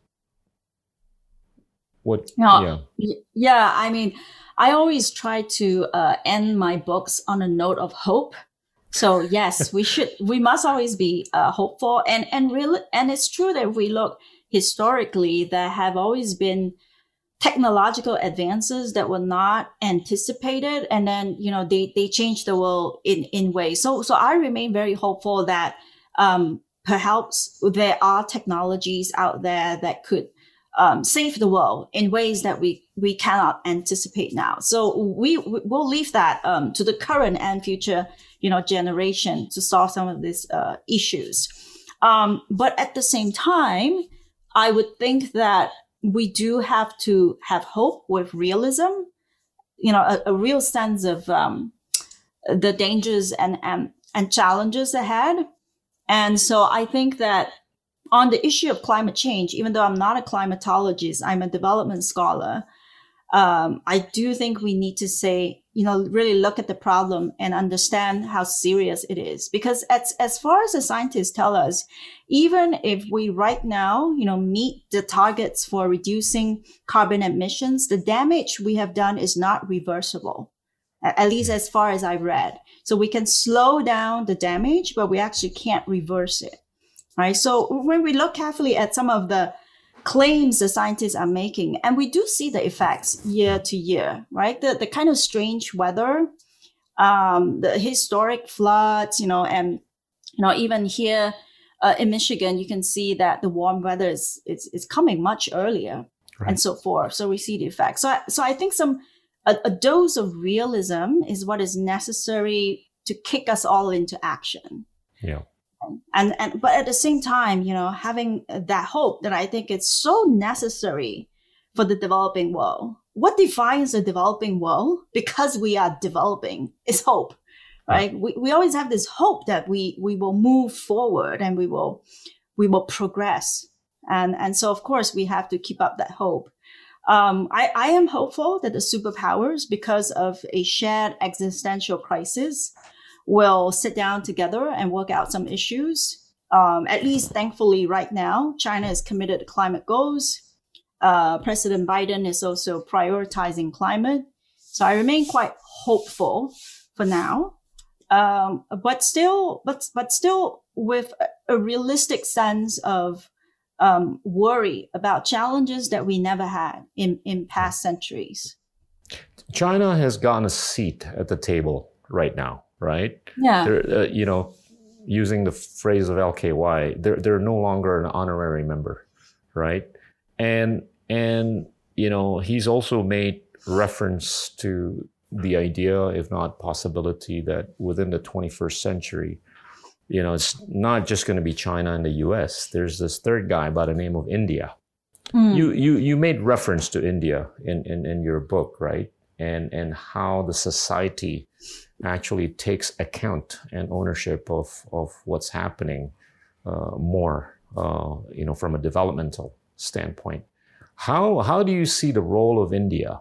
Yeah, I mean, I always try to end my books on a note of hope. So yes, we must always be hopeful. And it's true that if we look historically, there have always been technological advances that were not anticipated. And then, they changed the world in ways. So I remain very hopeful that perhaps there are technologies out there that could save the world in ways that we cannot anticipate now. So we'll leave that to the current and future, generation to solve some of these issues. But at the same time, I would think that we do have to have hope with realism, a real sense of the dangers and challenges ahead. And so I think that on the issue of climate change, even though I'm not a climatologist, I'm a development scholar, I do think we need to say, really look at the problem and understand how serious it is. Because as far as the scientists tell us, even if we right now, meet the targets for reducing carbon emissions, the damage we have done is not reversible, at least as far as I've read. So we can slow down the damage, but we actually can't reverse it. Right. So when we look carefully at some of the claims the scientists are making, and we do see the effects year to year, right? The kind of strange weather, the historic floods, and, even here in Michigan, you can see that the warm weather is coming much earlier, right, and so forth. So we see the effects. So I think a dose of realism is what is necessary to kick us all into action. Yeah. But at the same time, having that hope that I think it's so necessary for the developing world. What defines the developing world, because we are developing, is hope, right? We always have this hope that we will move forward and we will progress. And so, of course, we have to keep up that hope. I am hopeful that the superpowers, because of a shared existential crisis, will sit down together and work out some issues. At least, thankfully, right now, China is committed to climate goals. President Biden is also prioritizing climate. So I remain quite hopeful for now. But still with a realistic sense of worry about challenges that we never had in past centuries. China has gotten a seat at the table right now. Right? Yeah. They're, using the phrase of LKY, they're no longer an honorary member, right? And he's also made reference to the idea, if not possibility, that within the 21st century, it's not just going to be China and the US. There's this third guy by the name of India. You made reference to India in your book, right? And how the society actually takes account and ownership of what's happening more, from a developmental standpoint. How do you see the role of India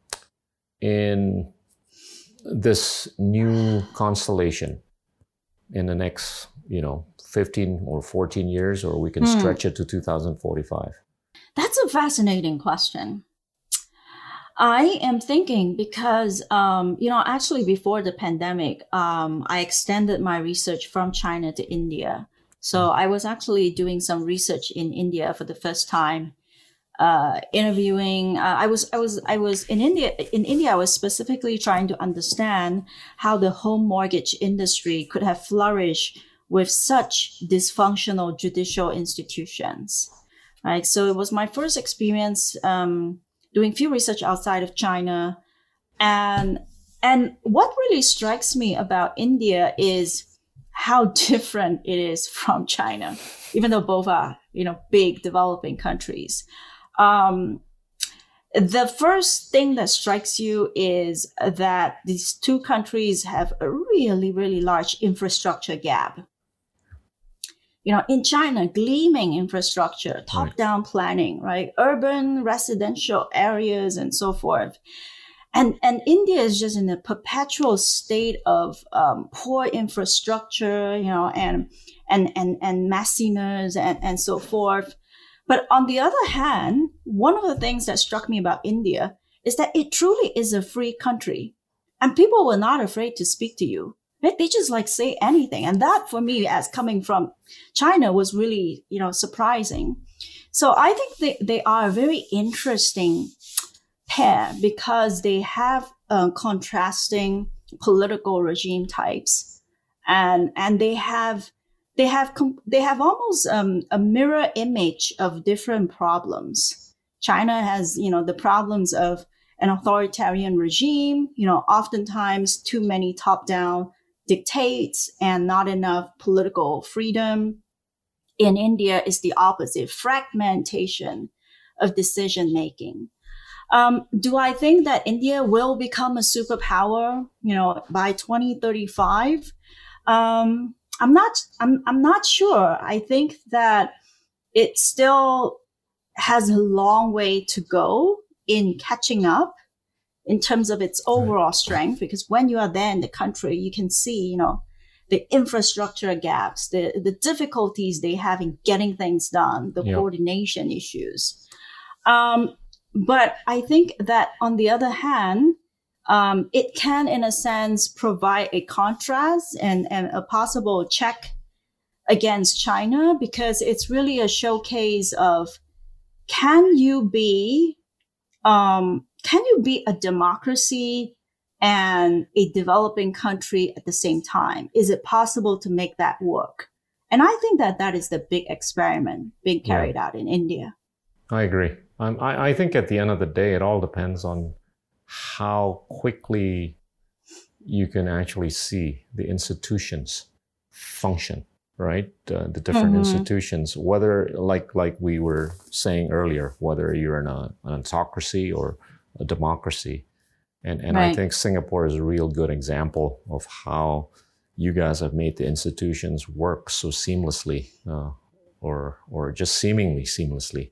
in this new constellation in the next, 15 or 14 years, or we can stretch it to 2045? That's a fascinating question. I am thinking because, actually before the pandemic, I extended my research from China to India. So I was actually doing some research in India for the first time, interviewing. I was in India. In India, I was specifically trying to understand how the home mortgage industry could have flourished with such dysfunctional judicial institutions. Right. So it was my first experience doing field research outside of China. And what really strikes me about India is how different it is from China, even though both are, big developing countries. The first thing that strikes you is that these two countries have a really, really large infrastructure gap. In China, gleaming infrastructure, top-down planning, right? Urban, residential areas, and so forth. And India is just in a perpetual state of poor infrastructure, and messiness and so forth. But on the other hand, one of the things that struck me about India is that it truly is a free country, and people were not afraid to speak to you. They just say anything. And that for me, as coming from China, was really, surprising. So I think they are a very interesting pair because they have contrasting political regime types, and they have almost a mirror image of different problems. China has, the problems of an authoritarian regime, oftentimes too many top-down dictates and not enough political freedom. In India is the opposite, fragmentation of decision making. Do I think that India will become a superpower, by 2035? I'm not sure. I think that it still has a long way to go in catching up in terms of its overall strength, because when you are there in the country, you can see, the infrastructure gaps, the difficulties they have in getting things done, the coordination issues. But I think that on the other hand, it can, in a sense, provide a contrast and a possible check against China, because it's really a showcase of, can you be a democracy and a developing country at the same time? Is it possible to make that work? And I think that is the big experiment being carried out in India. I agree. I think at the end of the day, it all depends on how quickly you can actually see the institutions function, right? The different institutions, whether like we were saying earlier, whether you're in an autocracy or a democracy. And right. I think Singapore is a real good example of how you guys have made the institutions work so seamlessly, or just seemingly seamlessly.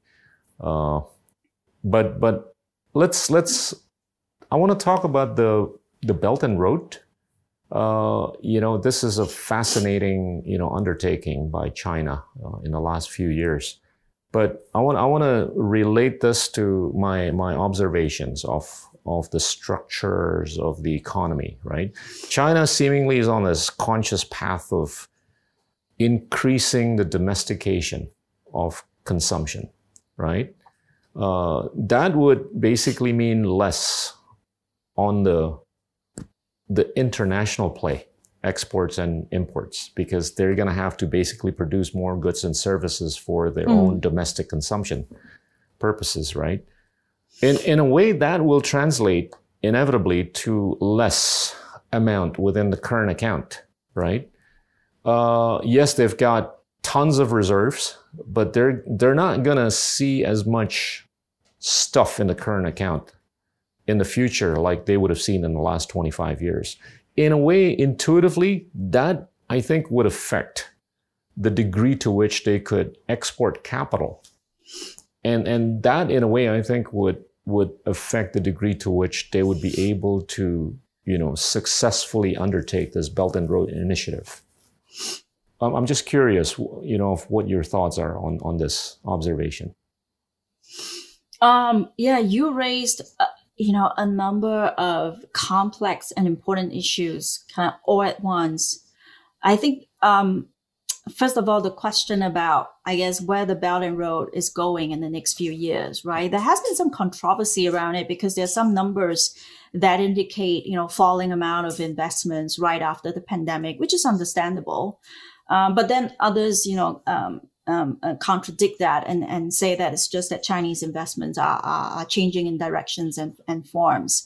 But let's. I want to talk about the Belt and Road. This is a fascinating undertaking by China in the last few years. But I want to relate this to my observations of the structures of the economy, right? China seemingly is on this conscious path of increasing the domestication of consumption, right? That would basically mean less on the international play, exports and imports, because they're going to have to basically produce more goods and services for their own domestic consumption purposes, right? In a way, that will translate inevitably to less amount within the current account, right? Yes, they've got tons of reserves, but they're not going to see as much stuff in the current account in the future like they would have seen in the last 25 years. In a way, intuitively, that I think would affect the degree to which they could export capital. And that, in a way, I think would affect the degree to which they would be able to, successfully undertake this Belt and Road initiative. I'm just curious, of what your thoughts are on this observation. You raised, a number of complex and important issues kind of all at once. I think, first of all, the question about, I guess, where the Belt and Road is going in the next few years, right? There has been some controversy around it because there's some numbers that indicate, falling amount of investments right after the pandemic, which is understandable. But then others, contradict that and say that it's just that Chinese investments are changing in directions and forms.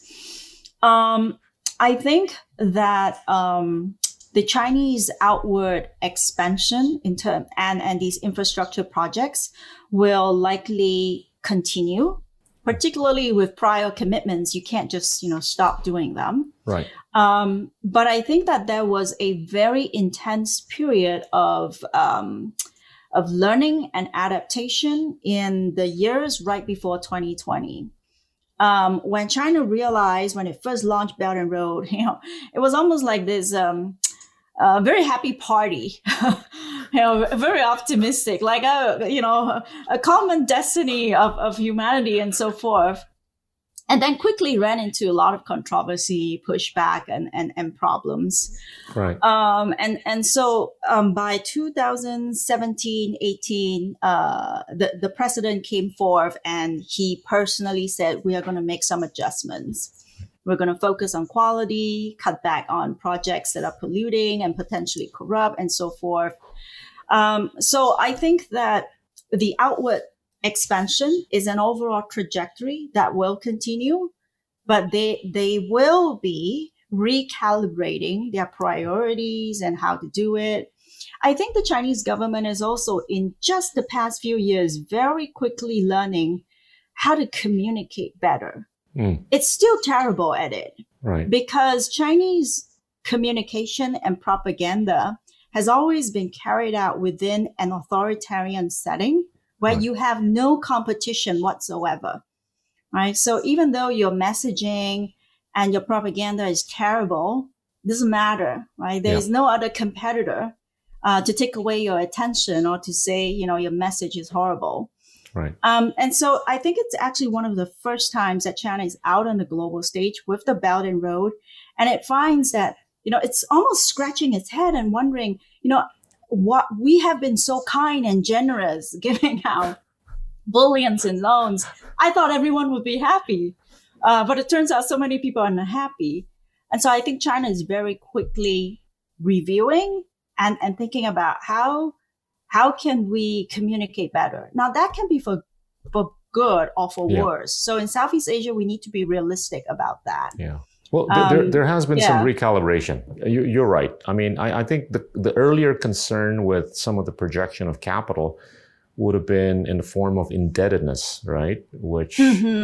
I think that the Chinese outward expansion and these infrastructure projects will likely continue, particularly with prior commitments. You can't just, stop doing them. Right. But I think that there was a very intense period of learning and adaptation in the years right before 2020. When China realized, when it first launched Belt and Road, it was almost like this very happy party, very optimistic, like a common destiny of humanity and so forth. And then quickly ran into a lot of controversy, pushback, and problems. Right. So by 2017, 18, the president came forth and he personally said, we are going to make some adjustments. We're going to focus on quality, cut back on projects that are polluting and potentially corrupt, and so forth. So I think that the outward expansion is an overall trajectory that will continue, but they will be recalibrating their priorities and how to do it. I think the Chinese government is also, in just the past few years, very quickly learning how to communicate better. It's still terrible at it, right? Because Chinese communication and propaganda has always been carried out within an authoritarian setting where Right. you have no competition whatsoever, right? So even though your messaging and your propaganda is terrible, doesn't matter, right? There is no other competitor to take away your attention or to say, your message is horrible. Right. And so I think it's actually one of the first times that China is out on the global stage with the Belt and Road. And it finds that, it's almost scratching its head and wondering, what we have been so kind and generous giving out bullions and loans. I thought everyone would be happy. But it turns out so many people are unhappy. And so I think China is very quickly reviewing and thinking about how can we communicate better? Now that can be for good or for worse. So in Southeast Asia, we need to be realistic about that. Yeah. Well, there has been some recalibration. You're right. I mean, I think the earlier concern with some of the projection of capital would have been in the form of indebtedness, right? Which,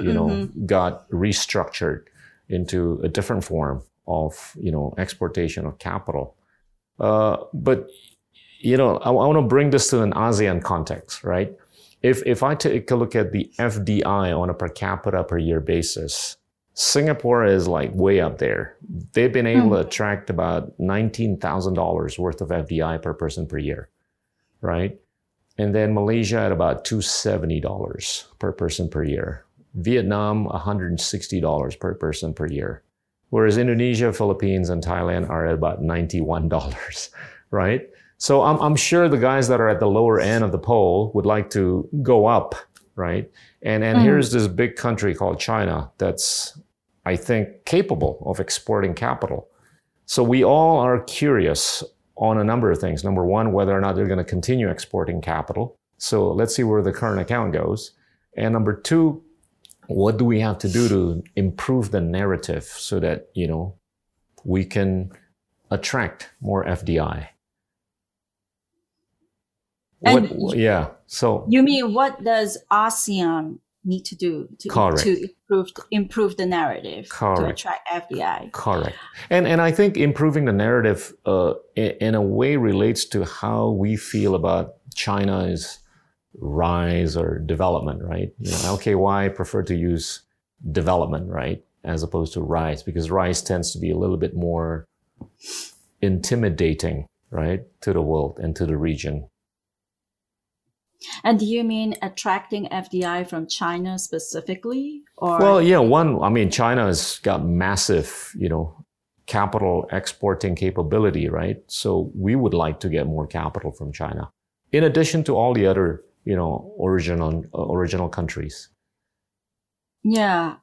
got restructured into a different form of, exportation of capital. But I want to bring this to an ASEAN context, right? If I take a look at the FDI on a per capita per year basis, Singapore is like way up there. They've been able to attract about $19,000 worth of FDI per person per year, right? And then Malaysia at about $270 per person per year. Vietnam, $160 per person per year. Whereas Indonesia, Philippines, and Thailand are at about $91, right? So I'm sure the guys that are at the lower end of the pole would like to go up, right? And here's this big country called China that's, I think, capable of exporting capital. So we all are curious on a number of things. Number one, whether or not they're going to continue exporting capital. So let's see where the current account goes. And number two, what do we have to do to improve the narrative so that, we can attract more FDI? So you mean what does ASEAN need to do to improve the narrative to attract FDI? Correct. And I think improving the narrative in a way relates to how we feel about China's rise or development, right? LKY prefer to use development, right, as opposed to rise, because rise tends to be a little bit more intimidating, right, to the world and to the region. And do you mean attracting FDI from China specifically? Or? Well, China has got massive, capital exporting capability, right? So we would like to get more capital from China, in addition to all the other, original countries. Yeah.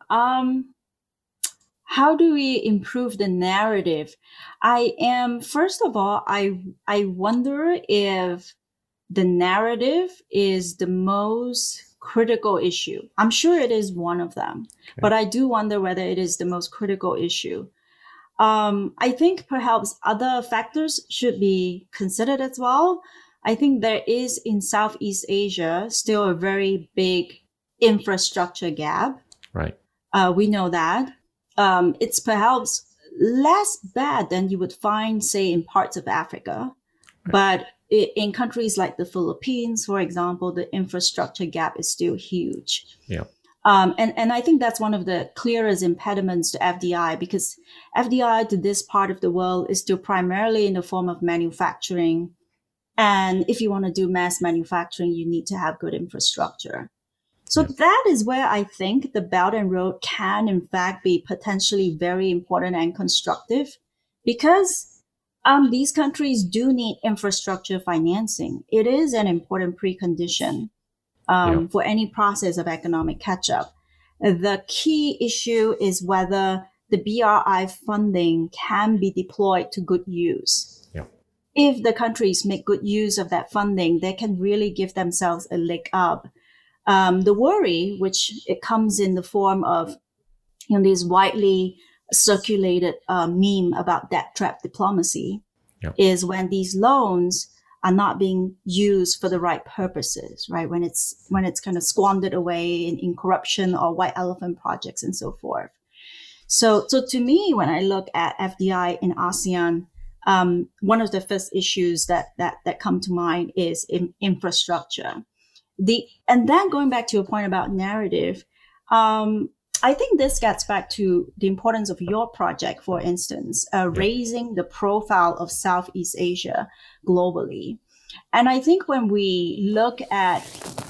How do we improve the narrative? First of all, I wonder if the narrative is the most critical issue. I'm sure it is one of them, but I do wonder whether it is the most critical issue. I think perhaps other factors should be considered as well. I think there is in Southeast Asia still a very big infrastructure gap. Right. We know that. It's perhaps less bad than you would find, say, in parts of Africa. Right. But in countries like the Philippines, for example, the infrastructure gap is still huge. Yeah. And I think that's one of the clearest impediments to FDI, because FDI to this part of the world is still primarily in the form of manufacturing. And if you want to do mass manufacturing, you need to have good infrastructure. So that is where I think the Belt and Road can, in fact, be potentially very important and constructive, because these countries do need infrastructure financing. It is an important precondition for any process of economic catch-up. The key issue is whether the BRI funding can be deployed to good use. Yeah. If the countries make good use of that funding, they can really give themselves a leg up The worry, which it comes in the form of these widely circulated meme about debt trap diplomacy, is when these loans are not being used for the right purposes, right? When it's kind of squandered away in corruption or white elephant projects and so forth. So to me, when I look at FDI in ASEAN, one of the first issues that come to mind is infrastructure. And then going back to your point about narrative, I think this gets back to the importance of your project, for instance, raising the profile of Southeast Asia globally. And I think when we look at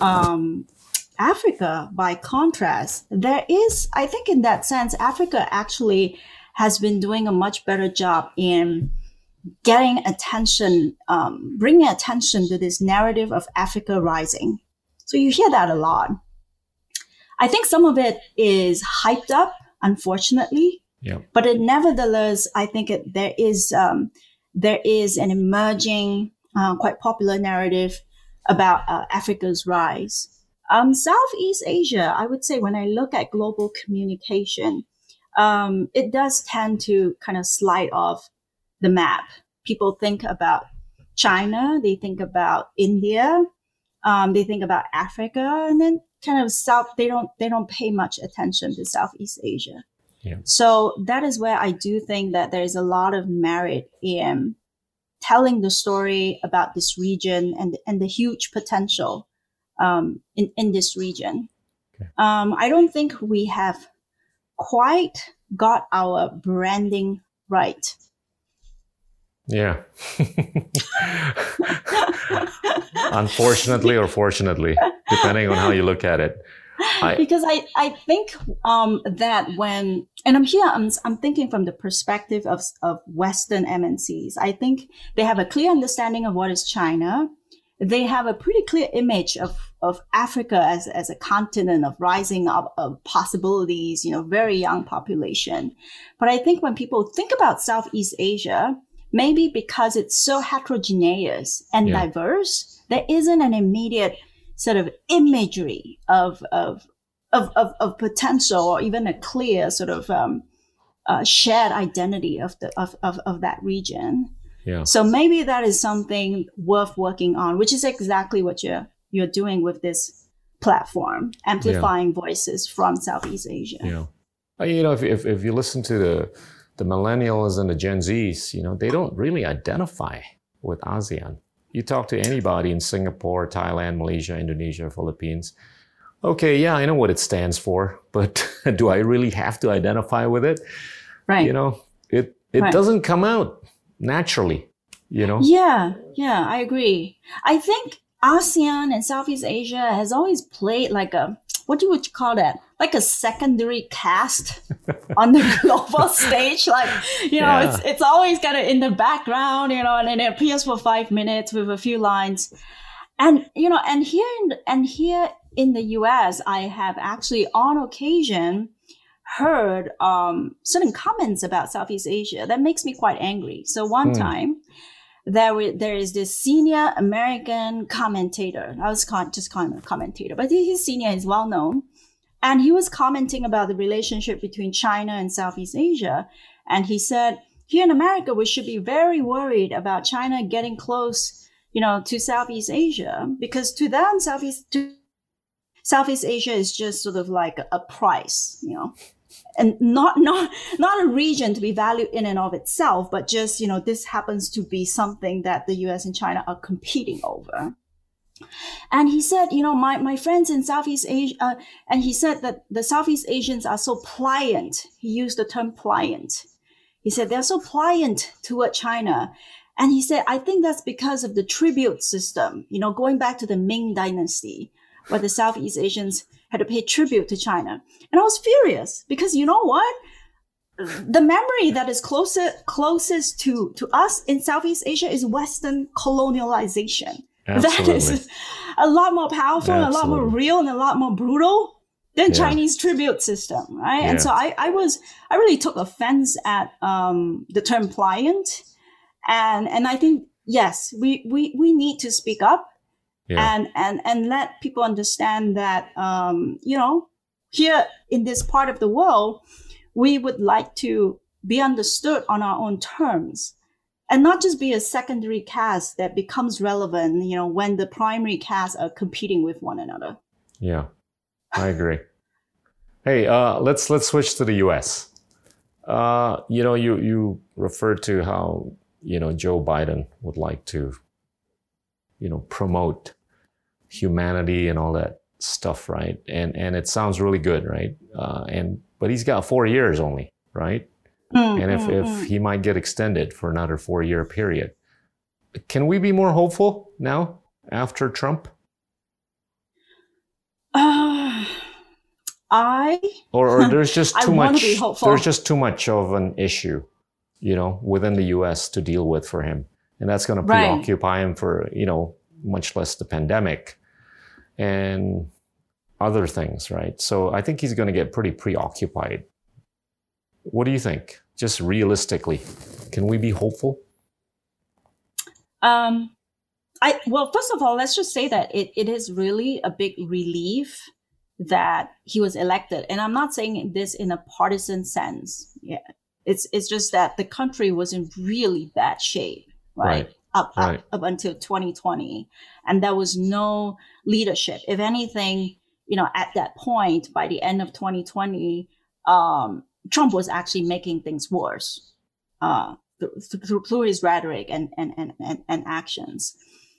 Africa, by contrast, there is, I think in that sense, Africa actually has been doing a much better job in getting attention, bringing attention to this narrative of Africa rising. So you hear that a lot. I think some of it is hyped up, unfortunately. Yeah. But nevertheless, I think there is an emerging, quite popular narrative about Africa's rise. Southeast Asia, I would say, when I look at global communication, it does tend to kind of slide off the map. People think about China, they think about India, they think about Africa, and then kind of they don't pay much attention to Southeast Asia. Yeah. So that is where I do think that there is a lot of merit in telling the story about this region and the huge potential in this region. Okay. I don't think we have quite got our branding right. Yeah. Unfortunately or fortunately, depending on how you look at it. Because I think that when, and I'm thinking from the perspective of Western MNCs, I think they have a clear understanding of what is China. They have a pretty clear image of Africa as a continent of rising up of possibilities, very young population. But I think when people think about Southeast Asia, maybe because it's so heterogeneous and diverse, there isn't an immediate sort of imagery of potential or even a clear sort of shared identity of that region. Yeah. So maybe that is something worth working on, which is exactly what you're doing with this platform, amplifying voices from Southeast Asia. Yeah. If you listen to the millennials and the Gen Zs, they don't really identify with ASEAN. You talk to anybody in Singapore, Thailand, Malaysia, Indonesia, Philippines. Okay, yeah, I know what it stands for, but do I really have to identify with it? Right. It doesn't come out naturally, Yeah, I agree. I think ASEAN and Southeast Asia has always played like what you would call that? Like a secondary cast on the global stage. Like, it's always kind of in the background, and then it appears for 5 minutes with a few lines. And, and here in the US, I have actually on occasion heard certain comments about Southeast Asia that makes me quite angry. So one time, there is this senior American commentator. I was just calling him a commentator, but he's senior, he's well known. And he was commenting about the relationship between China and Southeast Asia. And he said, here in America, we should be very worried about China getting close, to Southeast Asia, because to them, Southeast Asia is just sort of like a price, and not a region to be valued in and of itself, but just, this happens to be something that the US and China are competing over. And he said, my friends in Southeast Asia, and he said that the Southeast Asians are so pliant. He used the term pliant. He said they're so pliant toward China. And he said, I think that's because of the tribute system, going back to the Ming Dynasty, where the Southeast Asians had to pay tribute to China. And I was furious because you know what? The memory that is closest to us in Southeast Asia is Western colonialization. Absolutely. That is a lot more powerful, and a lot more real, and a lot more brutal than Chinese tribute system, right? Yeah. And so I really took offense at the term pliant, and I think yes, we need to speak up Yeah. and let people understand that, here in this part of the world, we would like to be understood on our own terms and not just be a secondary cast that becomes relevant, when the primary casts are competing with one another. Yeah, I agree. Hey, let's switch to the U.S. You referred to how Joe Biden would like to promote humanity and all that stuff, right? And it sounds really good, right? But he's got 4 years only, right? And if he might get extended for another 4-year period, can we be more hopeful now after Trump? Or there's just too much. There's just too much of an issue, within the U.S. to deal with for him, and that's going to preoccupy him for much less the pandemic and other things, right? So I think he's going to get pretty preoccupied. What do you think? Just realistically, can we be hopeful? Well, first of all, let's just say that it is really a big relief that he was elected. And I'm not saying this in a partisan sense. Yeah. It's just that the country was in really bad shape, right? Up until 2020. And there was no leadership. If anything, at that point, by the end of 2020, Trump was actually making things worse through his rhetoric and actions.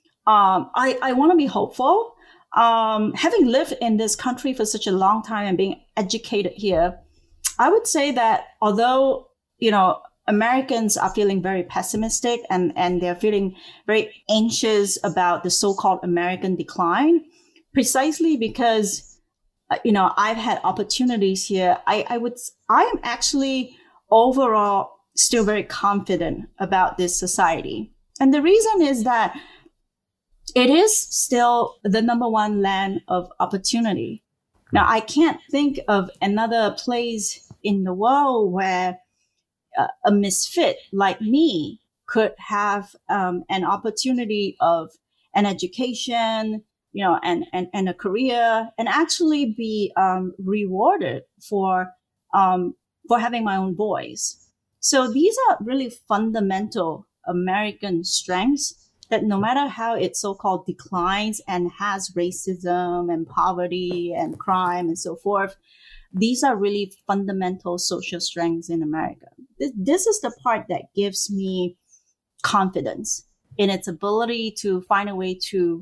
I want to be hopeful. Having lived in this country for such a long time and being educated here, I would say that although, Americans are feeling very pessimistic and they're feeling very anxious about the so-called American decline, precisely because, I've had opportunities here. I am actually overall still very confident about this society. And the reason is that it is still the number one land of opportunity. Now, I can't think of another place in the world where a misfit like me could have an opportunity of an education, and a career, and actually be rewarded for having my own voice. So these are really fundamental American strengths that no matter how it so-called declines and has racism and poverty and crime and so forth, these are really fundamental social strengths in America. This is the part that gives me confidence in its ability to find a way to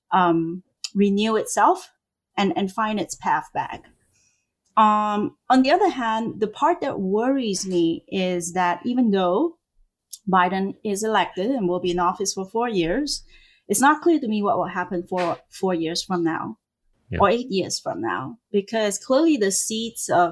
renew itself and find its path back. On the other hand, the part that worries me is that even though Biden is elected and will be in office for 4 years, it's not clear to me what will happen for 4 years from now or 8 years from now, because clearly the seeds of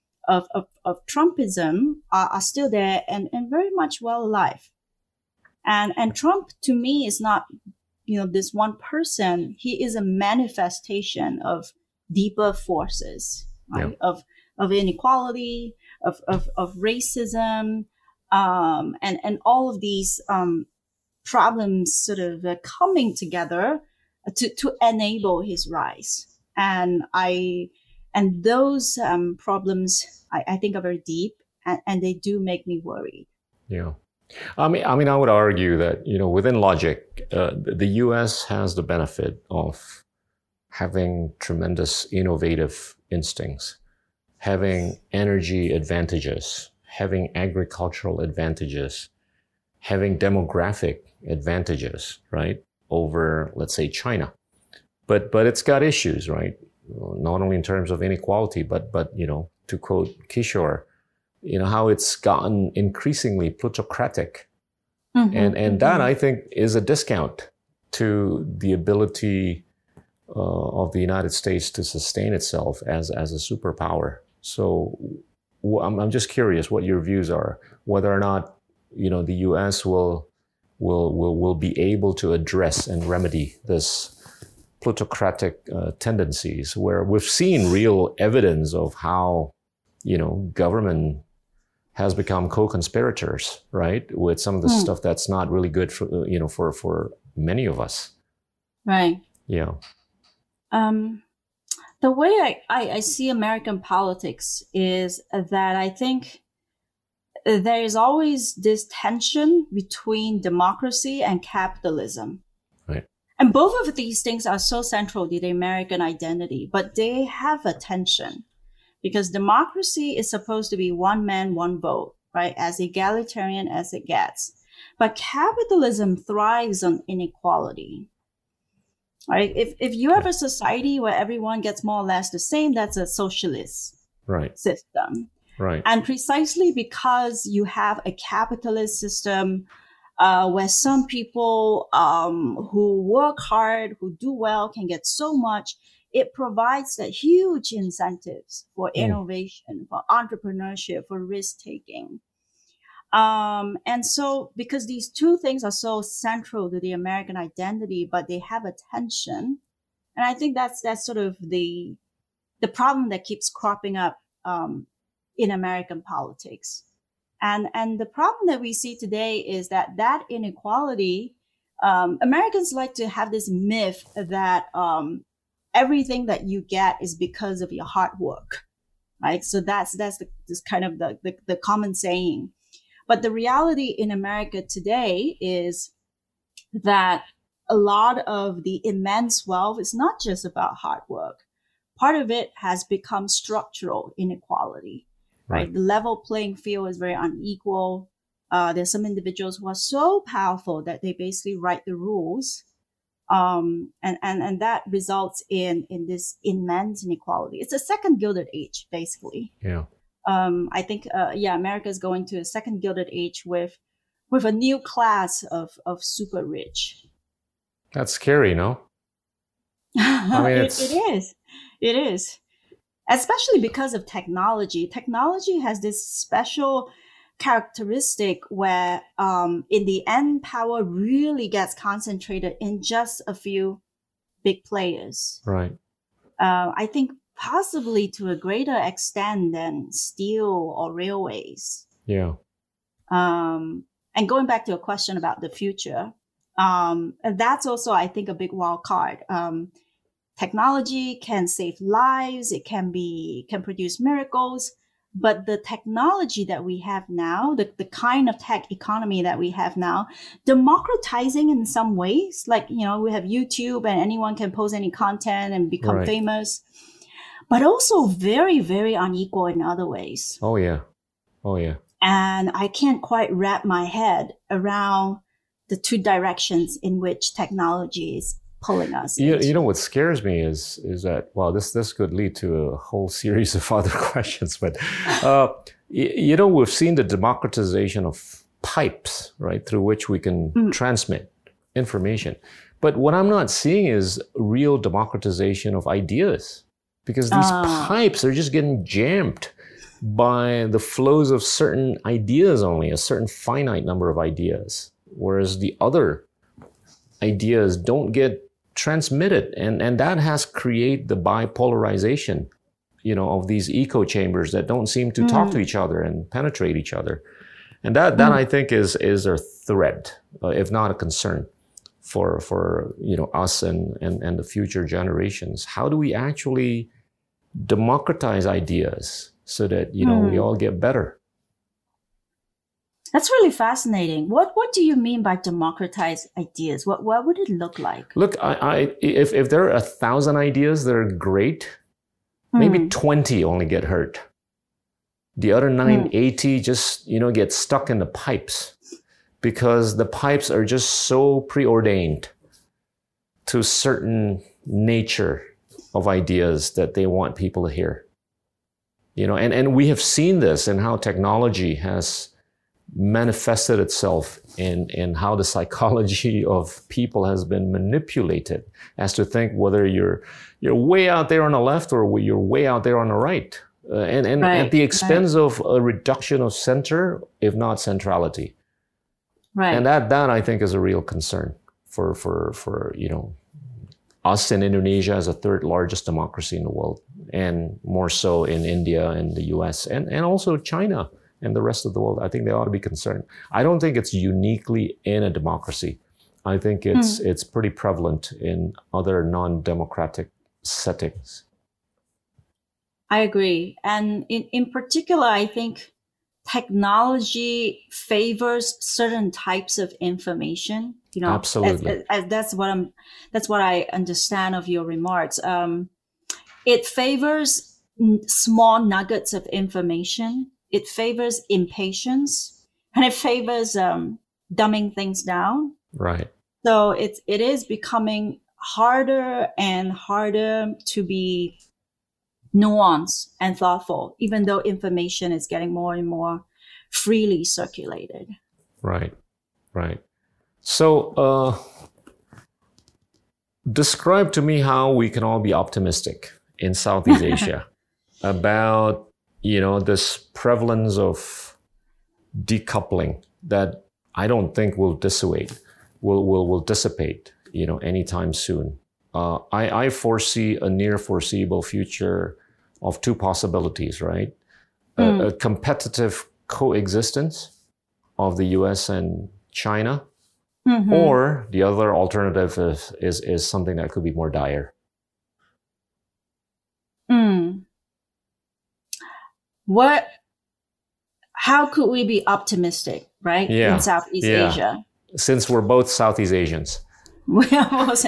Trumpism are still there and very much well alive. And Trump, to me, is not, this one person. He is a manifestation of deeper forces, right? Of inequality, of racism, and all of these problems sort of coming together to enable his rise. And those problems, I think, are very deep, and they do make me worried. Yeah. I mean, I would argue that, within logic, the U.S. has the benefit of having tremendous innovative instincts, having energy advantages, having agricultural advantages, having demographic advantages, right, over, let's say, China. But it's got issues, right? Not only in terms of inequality, but to quote Kishore, how it's gotten increasingly plutocratic. And that, I think, is a discount to the ability of the United States to sustain itself as a superpower. So I'm just curious what your views are, whether or not, the U.S. will be able to address and remedy this plutocratic tendencies, where we've seen real evidence of how, government has become co-conspirators, right, with some of the stuff that's not really good for, for many of us. Right. Yeah. The way I see American politics is that I think there is always this tension between democracy and capitalism. Right. And both of these things are so central to the American identity, but they have a tension because democracy is supposed to be one man, one vote, right? As egalitarian as it gets. But capitalism thrives on inequality, right? If you have a society where everyone gets more or less the same, that's a socialist system. Right. And precisely because you have a capitalist system where some people who work hard, who do well, can get so much, it provides that huge incentives for innovation, for entrepreneurship, for risk taking. And so because these two things are so central to the American identity, but they have a tension. And I think that's sort of the problem that keeps cropping up in American politics. And the problem that we see today is that inequality, Americans like to have this myth that everything that you get is because of your hard work, right? So that's this kind of the common saying. But the reality in America today is that a lot of the immense wealth is not just about hard work. Part of it has become structural inequality, right? The level playing field is very unequal. There's some individuals who are so powerful that they basically write the rules. And that results in this immense inequality. It's a second Gilded Age, basically. Yeah. I think, America is going to a second Gilded Age with a new class of super rich. That's scary, no? I mean, It is. Especially because of technology. Technology has this special characteristic where, in the end, power really gets concentrated in just a few big players. Right. I think possibly to a greater extent than steel or railways. Yeah. And going back to a question about the future, and that's also, I think, a big wild card. Technology can save lives. It can produce miracles. But the technology that we have now, the kind of tech economy that we have now, democratizing in some ways, like, we have YouTube and anyone can post any content and become famous, but also very, very unequal in other ways. Oh, yeah. And I can't quite wrap my head around the two directions in which technology is pulling us. You know what scares me is that, well, this could lead to a whole series of other questions, but we've seen the democratization of pipes, right, through which we can transmit information. But what I'm not seeing is real democratization of ideas, because these pipes are just getting jammed by the flows of certain ideas only, a certain finite number of ideas, whereas the other ideas don't get transmitted, and that has created the bipolarization, of these echo chambers that don't seem to talk to each other and penetrate each other, and that I think is a threat, if not a concern, for us and the future generations. How do we actually democratize ideas so that we all get better? That's really fascinating. What do you mean by democratize ideas? What would it look like? Look, if there are 1,000 ideas that are great, maybe 20 only get heard. The other 980 just get stuck in the pipes, because the pipes are just so preordained to certain nature of ideas that they want people to hear. And we have seen this in how technology has manifested itself in how the psychology of people has been manipulated as to think whether you're way out there on the left or you're way out there on the right, and at the expense of a reduction of center, if not centrality. Right. And that I think is a real concern for us in Indonesia as a third largest democracy in the world, and more so in India and the US and also China and the rest of the world. I think they ought to be concerned. I don't think it's uniquely in a democracy. I think it's pretty prevalent in other non-democratic settings. I agree. And in particular, I think technology favors certain types of information. Absolutely. That's what I understand of your remarks. It favors small nuggets of information. It favors impatience, and it favors dumbing things down. Right. So it is becoming harder and harder to be nuanced and thoughtful, even though information is getting more and more freely circulated. Right. So describe to me how we can all be optimistic in Southeast Asia about, this prevalence of decoupling that I don't think will dissipate, anytime soon. I foresee a near foreseeable future of two possibilities, right? A competitive coexistence of the US and China, or the other alternative is something that could be more dire. How could we be optimistic, right? Yeah. In Southeast Asia? Since we're both Southeast Asians. We are both.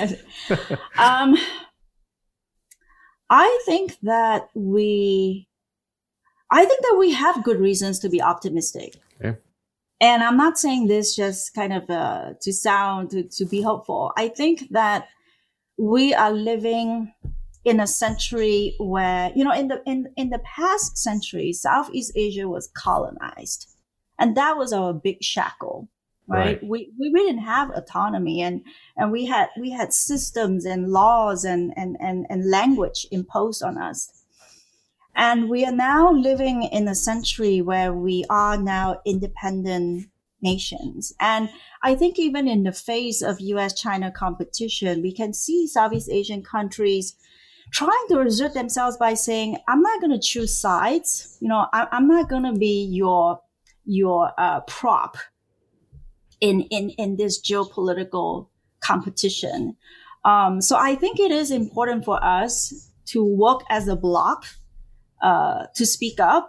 I think that we have good reasons to be optimistic. Okay. And I'm not saying this just kind of to be hopeful. I think that we are living in a century where, in the past century, Southeast Asia was colonized. And that was our big shackle, right? We didn't have autonomy, and we had systems and laws and language imposed on us. And we are now living in a century where we are now independent nations. And I think even in the face of US-China competition, we can see Southeast Asian countries trying to assert themselves by saying, I'm not going to choose sides. I'm not going to be your prop in this geopolitical competition. So I think it is important for us to work as a bloc, to speak up,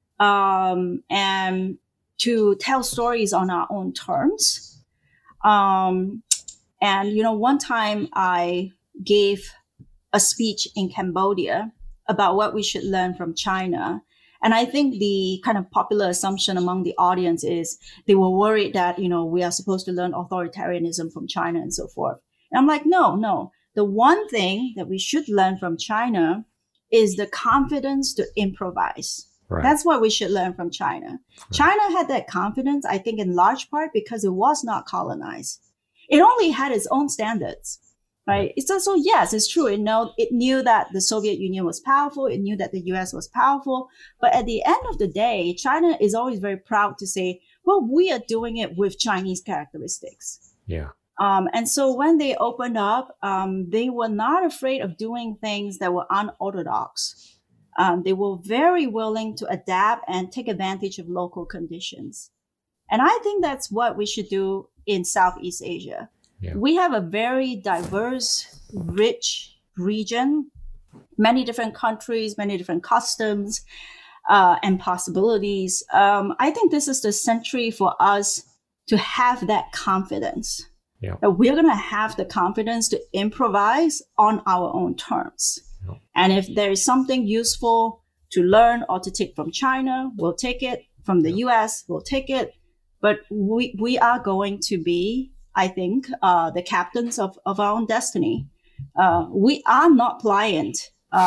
and to tell stories on our own terms. And, one time I gave a speech in Cambodia about what we should learn from China. And I think the kind of popular assumption among the audience is they were worried that, we are supposed to learn authoritarianism from China and so forth. And I'm like, no. The one thing that we should learn from China is the confidence to improvise. Right. That's what we should learn from China. Right. China had that confidence, I think, in large part because it was not colonized. It only had its own standards, right? It's also, yes, it's true. It knew that the Soviet Union was powerful. It knew that the US was powerful. But at the end of the day, China is always very proud to say, well, we are doing it with Chinese characteristics. Yeah. And so when they opened up, they were not afraid of doing things that were unorthodox. They were very willing to adapt and take advantage of local conditions. And I think that's what we should do in Southeast Asia. Yeah. We have a very diverse, rich region, many different countries, many different customs, and possibilities. I think this is the century for us to have that confidence. Yeah. That we're going to have the confidence to improvise on our own terms. Yeah. And if there is something useful to learn or to take from China, we'll take it. From the US, we'll take it. But we are going to be, I think, the captains of our own destiny. We are not pliant.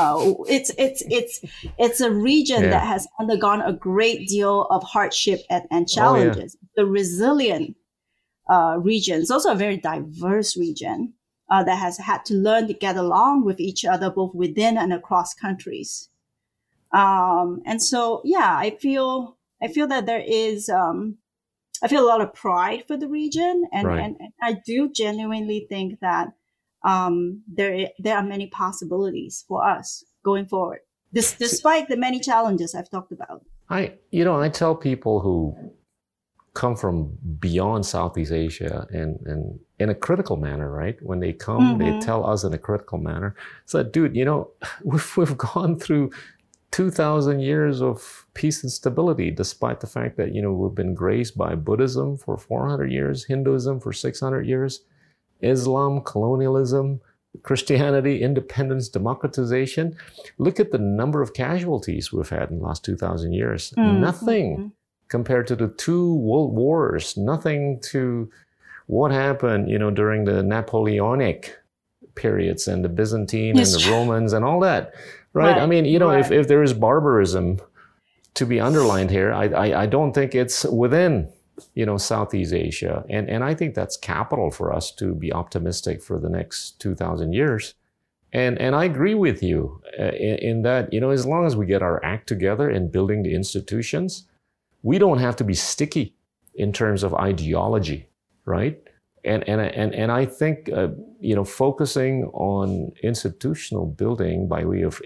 It's a region that has undergone a great deal of hardship and challenges. Oh, yeah. The resilient region. It's also a very diverse region that has had to learn to get along with each other, both within and across countries. And so, I feel that there is, I feel a lot of pride for the region, and I do genuinely think that there are many possibilities for us going forward, despite the many challenges I've talked about. I tell people who come from beyond Southeast Asia and in a critical manner, right? When they come, they tell us in a critical manner. So, dude, we've gone through 2,000 years of peace and stability, despite the fact that, we've been graced by Buddhism for 400 years, Hinduism for 600 years, Islam, colonialism, Christianity, independence, democratization. Look at the number of casualties we've had in the last 2,000 years. Nothing compared to the 2 world wars, nothing to what happened, during the Napoleonic periods and the Byzantine and the Romans and all that. Right? I mean, if there is barbarism to be underlined here, I don't think it's within, Southeast Asia. And I think that's capital for us to be optimistic for the next 2,000 years. And I agree with you in that, as long as we get our act together in building the institutions, we don't have to be sticky in terms of ideology, right? And I think, focusing on institutional building by way of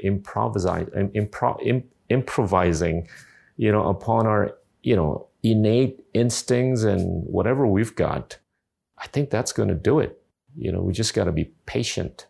improvising, upon our, innate instincts and whatever we've got, I think that's going to do it. We just got to be patient,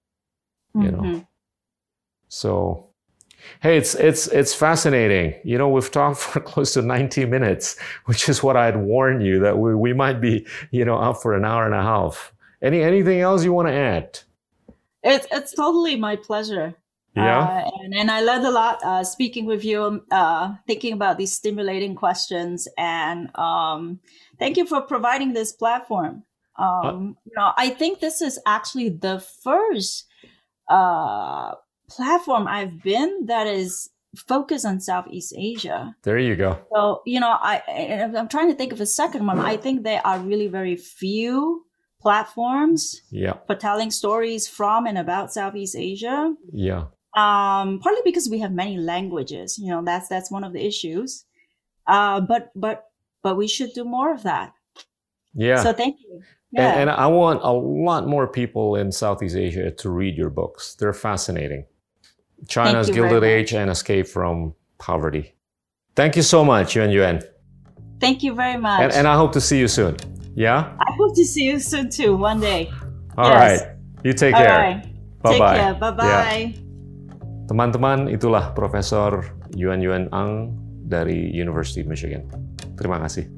So, hey, it's fascinating. We've talked for close to 90 minutes, which is what I had warned you that we might be, up for an hour and a half. Anything else you want to add? It's totally my pleasure. Yeah. And I learned a lot speaking with you, thinking about these stimulating questions. And thank you for providing this platform. I think this is actually the first platform I've been that is focused on Southeast Asia. There you go. So, I'm trying to think of a second one. I think there are really very few platforms for telling stories from and about Southeast Asia. Yeah. Partly because we have many languages, that's one of the issues. But we should do more of that. Yeah. So thank you. Yeah. And I want a lot more people in Southeast Asia to read your books. They're fascinating. China's Gilded Age and Escape from Poverty. Thank you so much, Yuan. Thank you very much. And I hope to see you soon. Yeah? I hope to see you soon too, one day. All right. You take care. Right. Bye-bye. Take care. Bye-bye. Yeah. Teman-teman, itulah Profesor Yuan Ang dari University of Michigan. Terima kasih.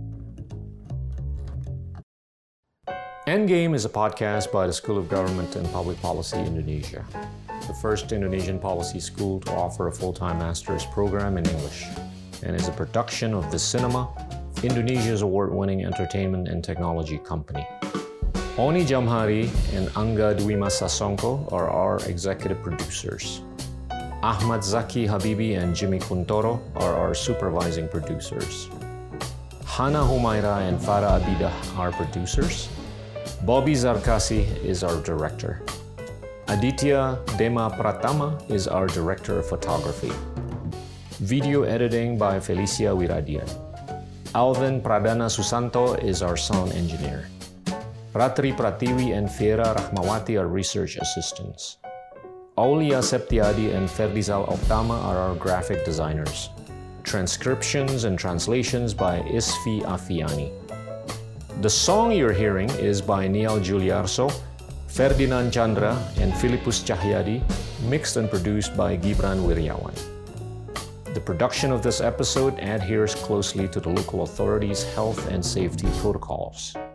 Endgame is a podcast by the School of Government and Public Policy Indonesia, the first Indonesian policy school to offer a full-time master's program in English, and is a production of The Cinema, Indonesia's award-winning entertainment and technology company. Oni Jamhari and Angga Dwi Mas Sasongko are our executive producers. Ahmad Zaki Habibi and Jimmy Kuntoro are our supervising producers. Hana Humaira and Farah Abidah are producers. Bobby Zarkasi is our director. Aditya Dema Pratama is our director of photography. Video editing by Felicia Wiradian. Alvin Pradana Susanto is our sound engineer. Ratri Pratiwi and Fiera Rahmawati are research assistants. Aulia Septiadi and Ferdizal Oktama are our graphic designers. Transcriptions and translations by Isfi Afiani. The song you're hearing is by Niall Juliarso, Ferdinand Chandra, and Philippus Cahyadi, mixed and produced by Gibran Wiryawan. The production of this episode adheres closely to the local authorities' health and safety protocols.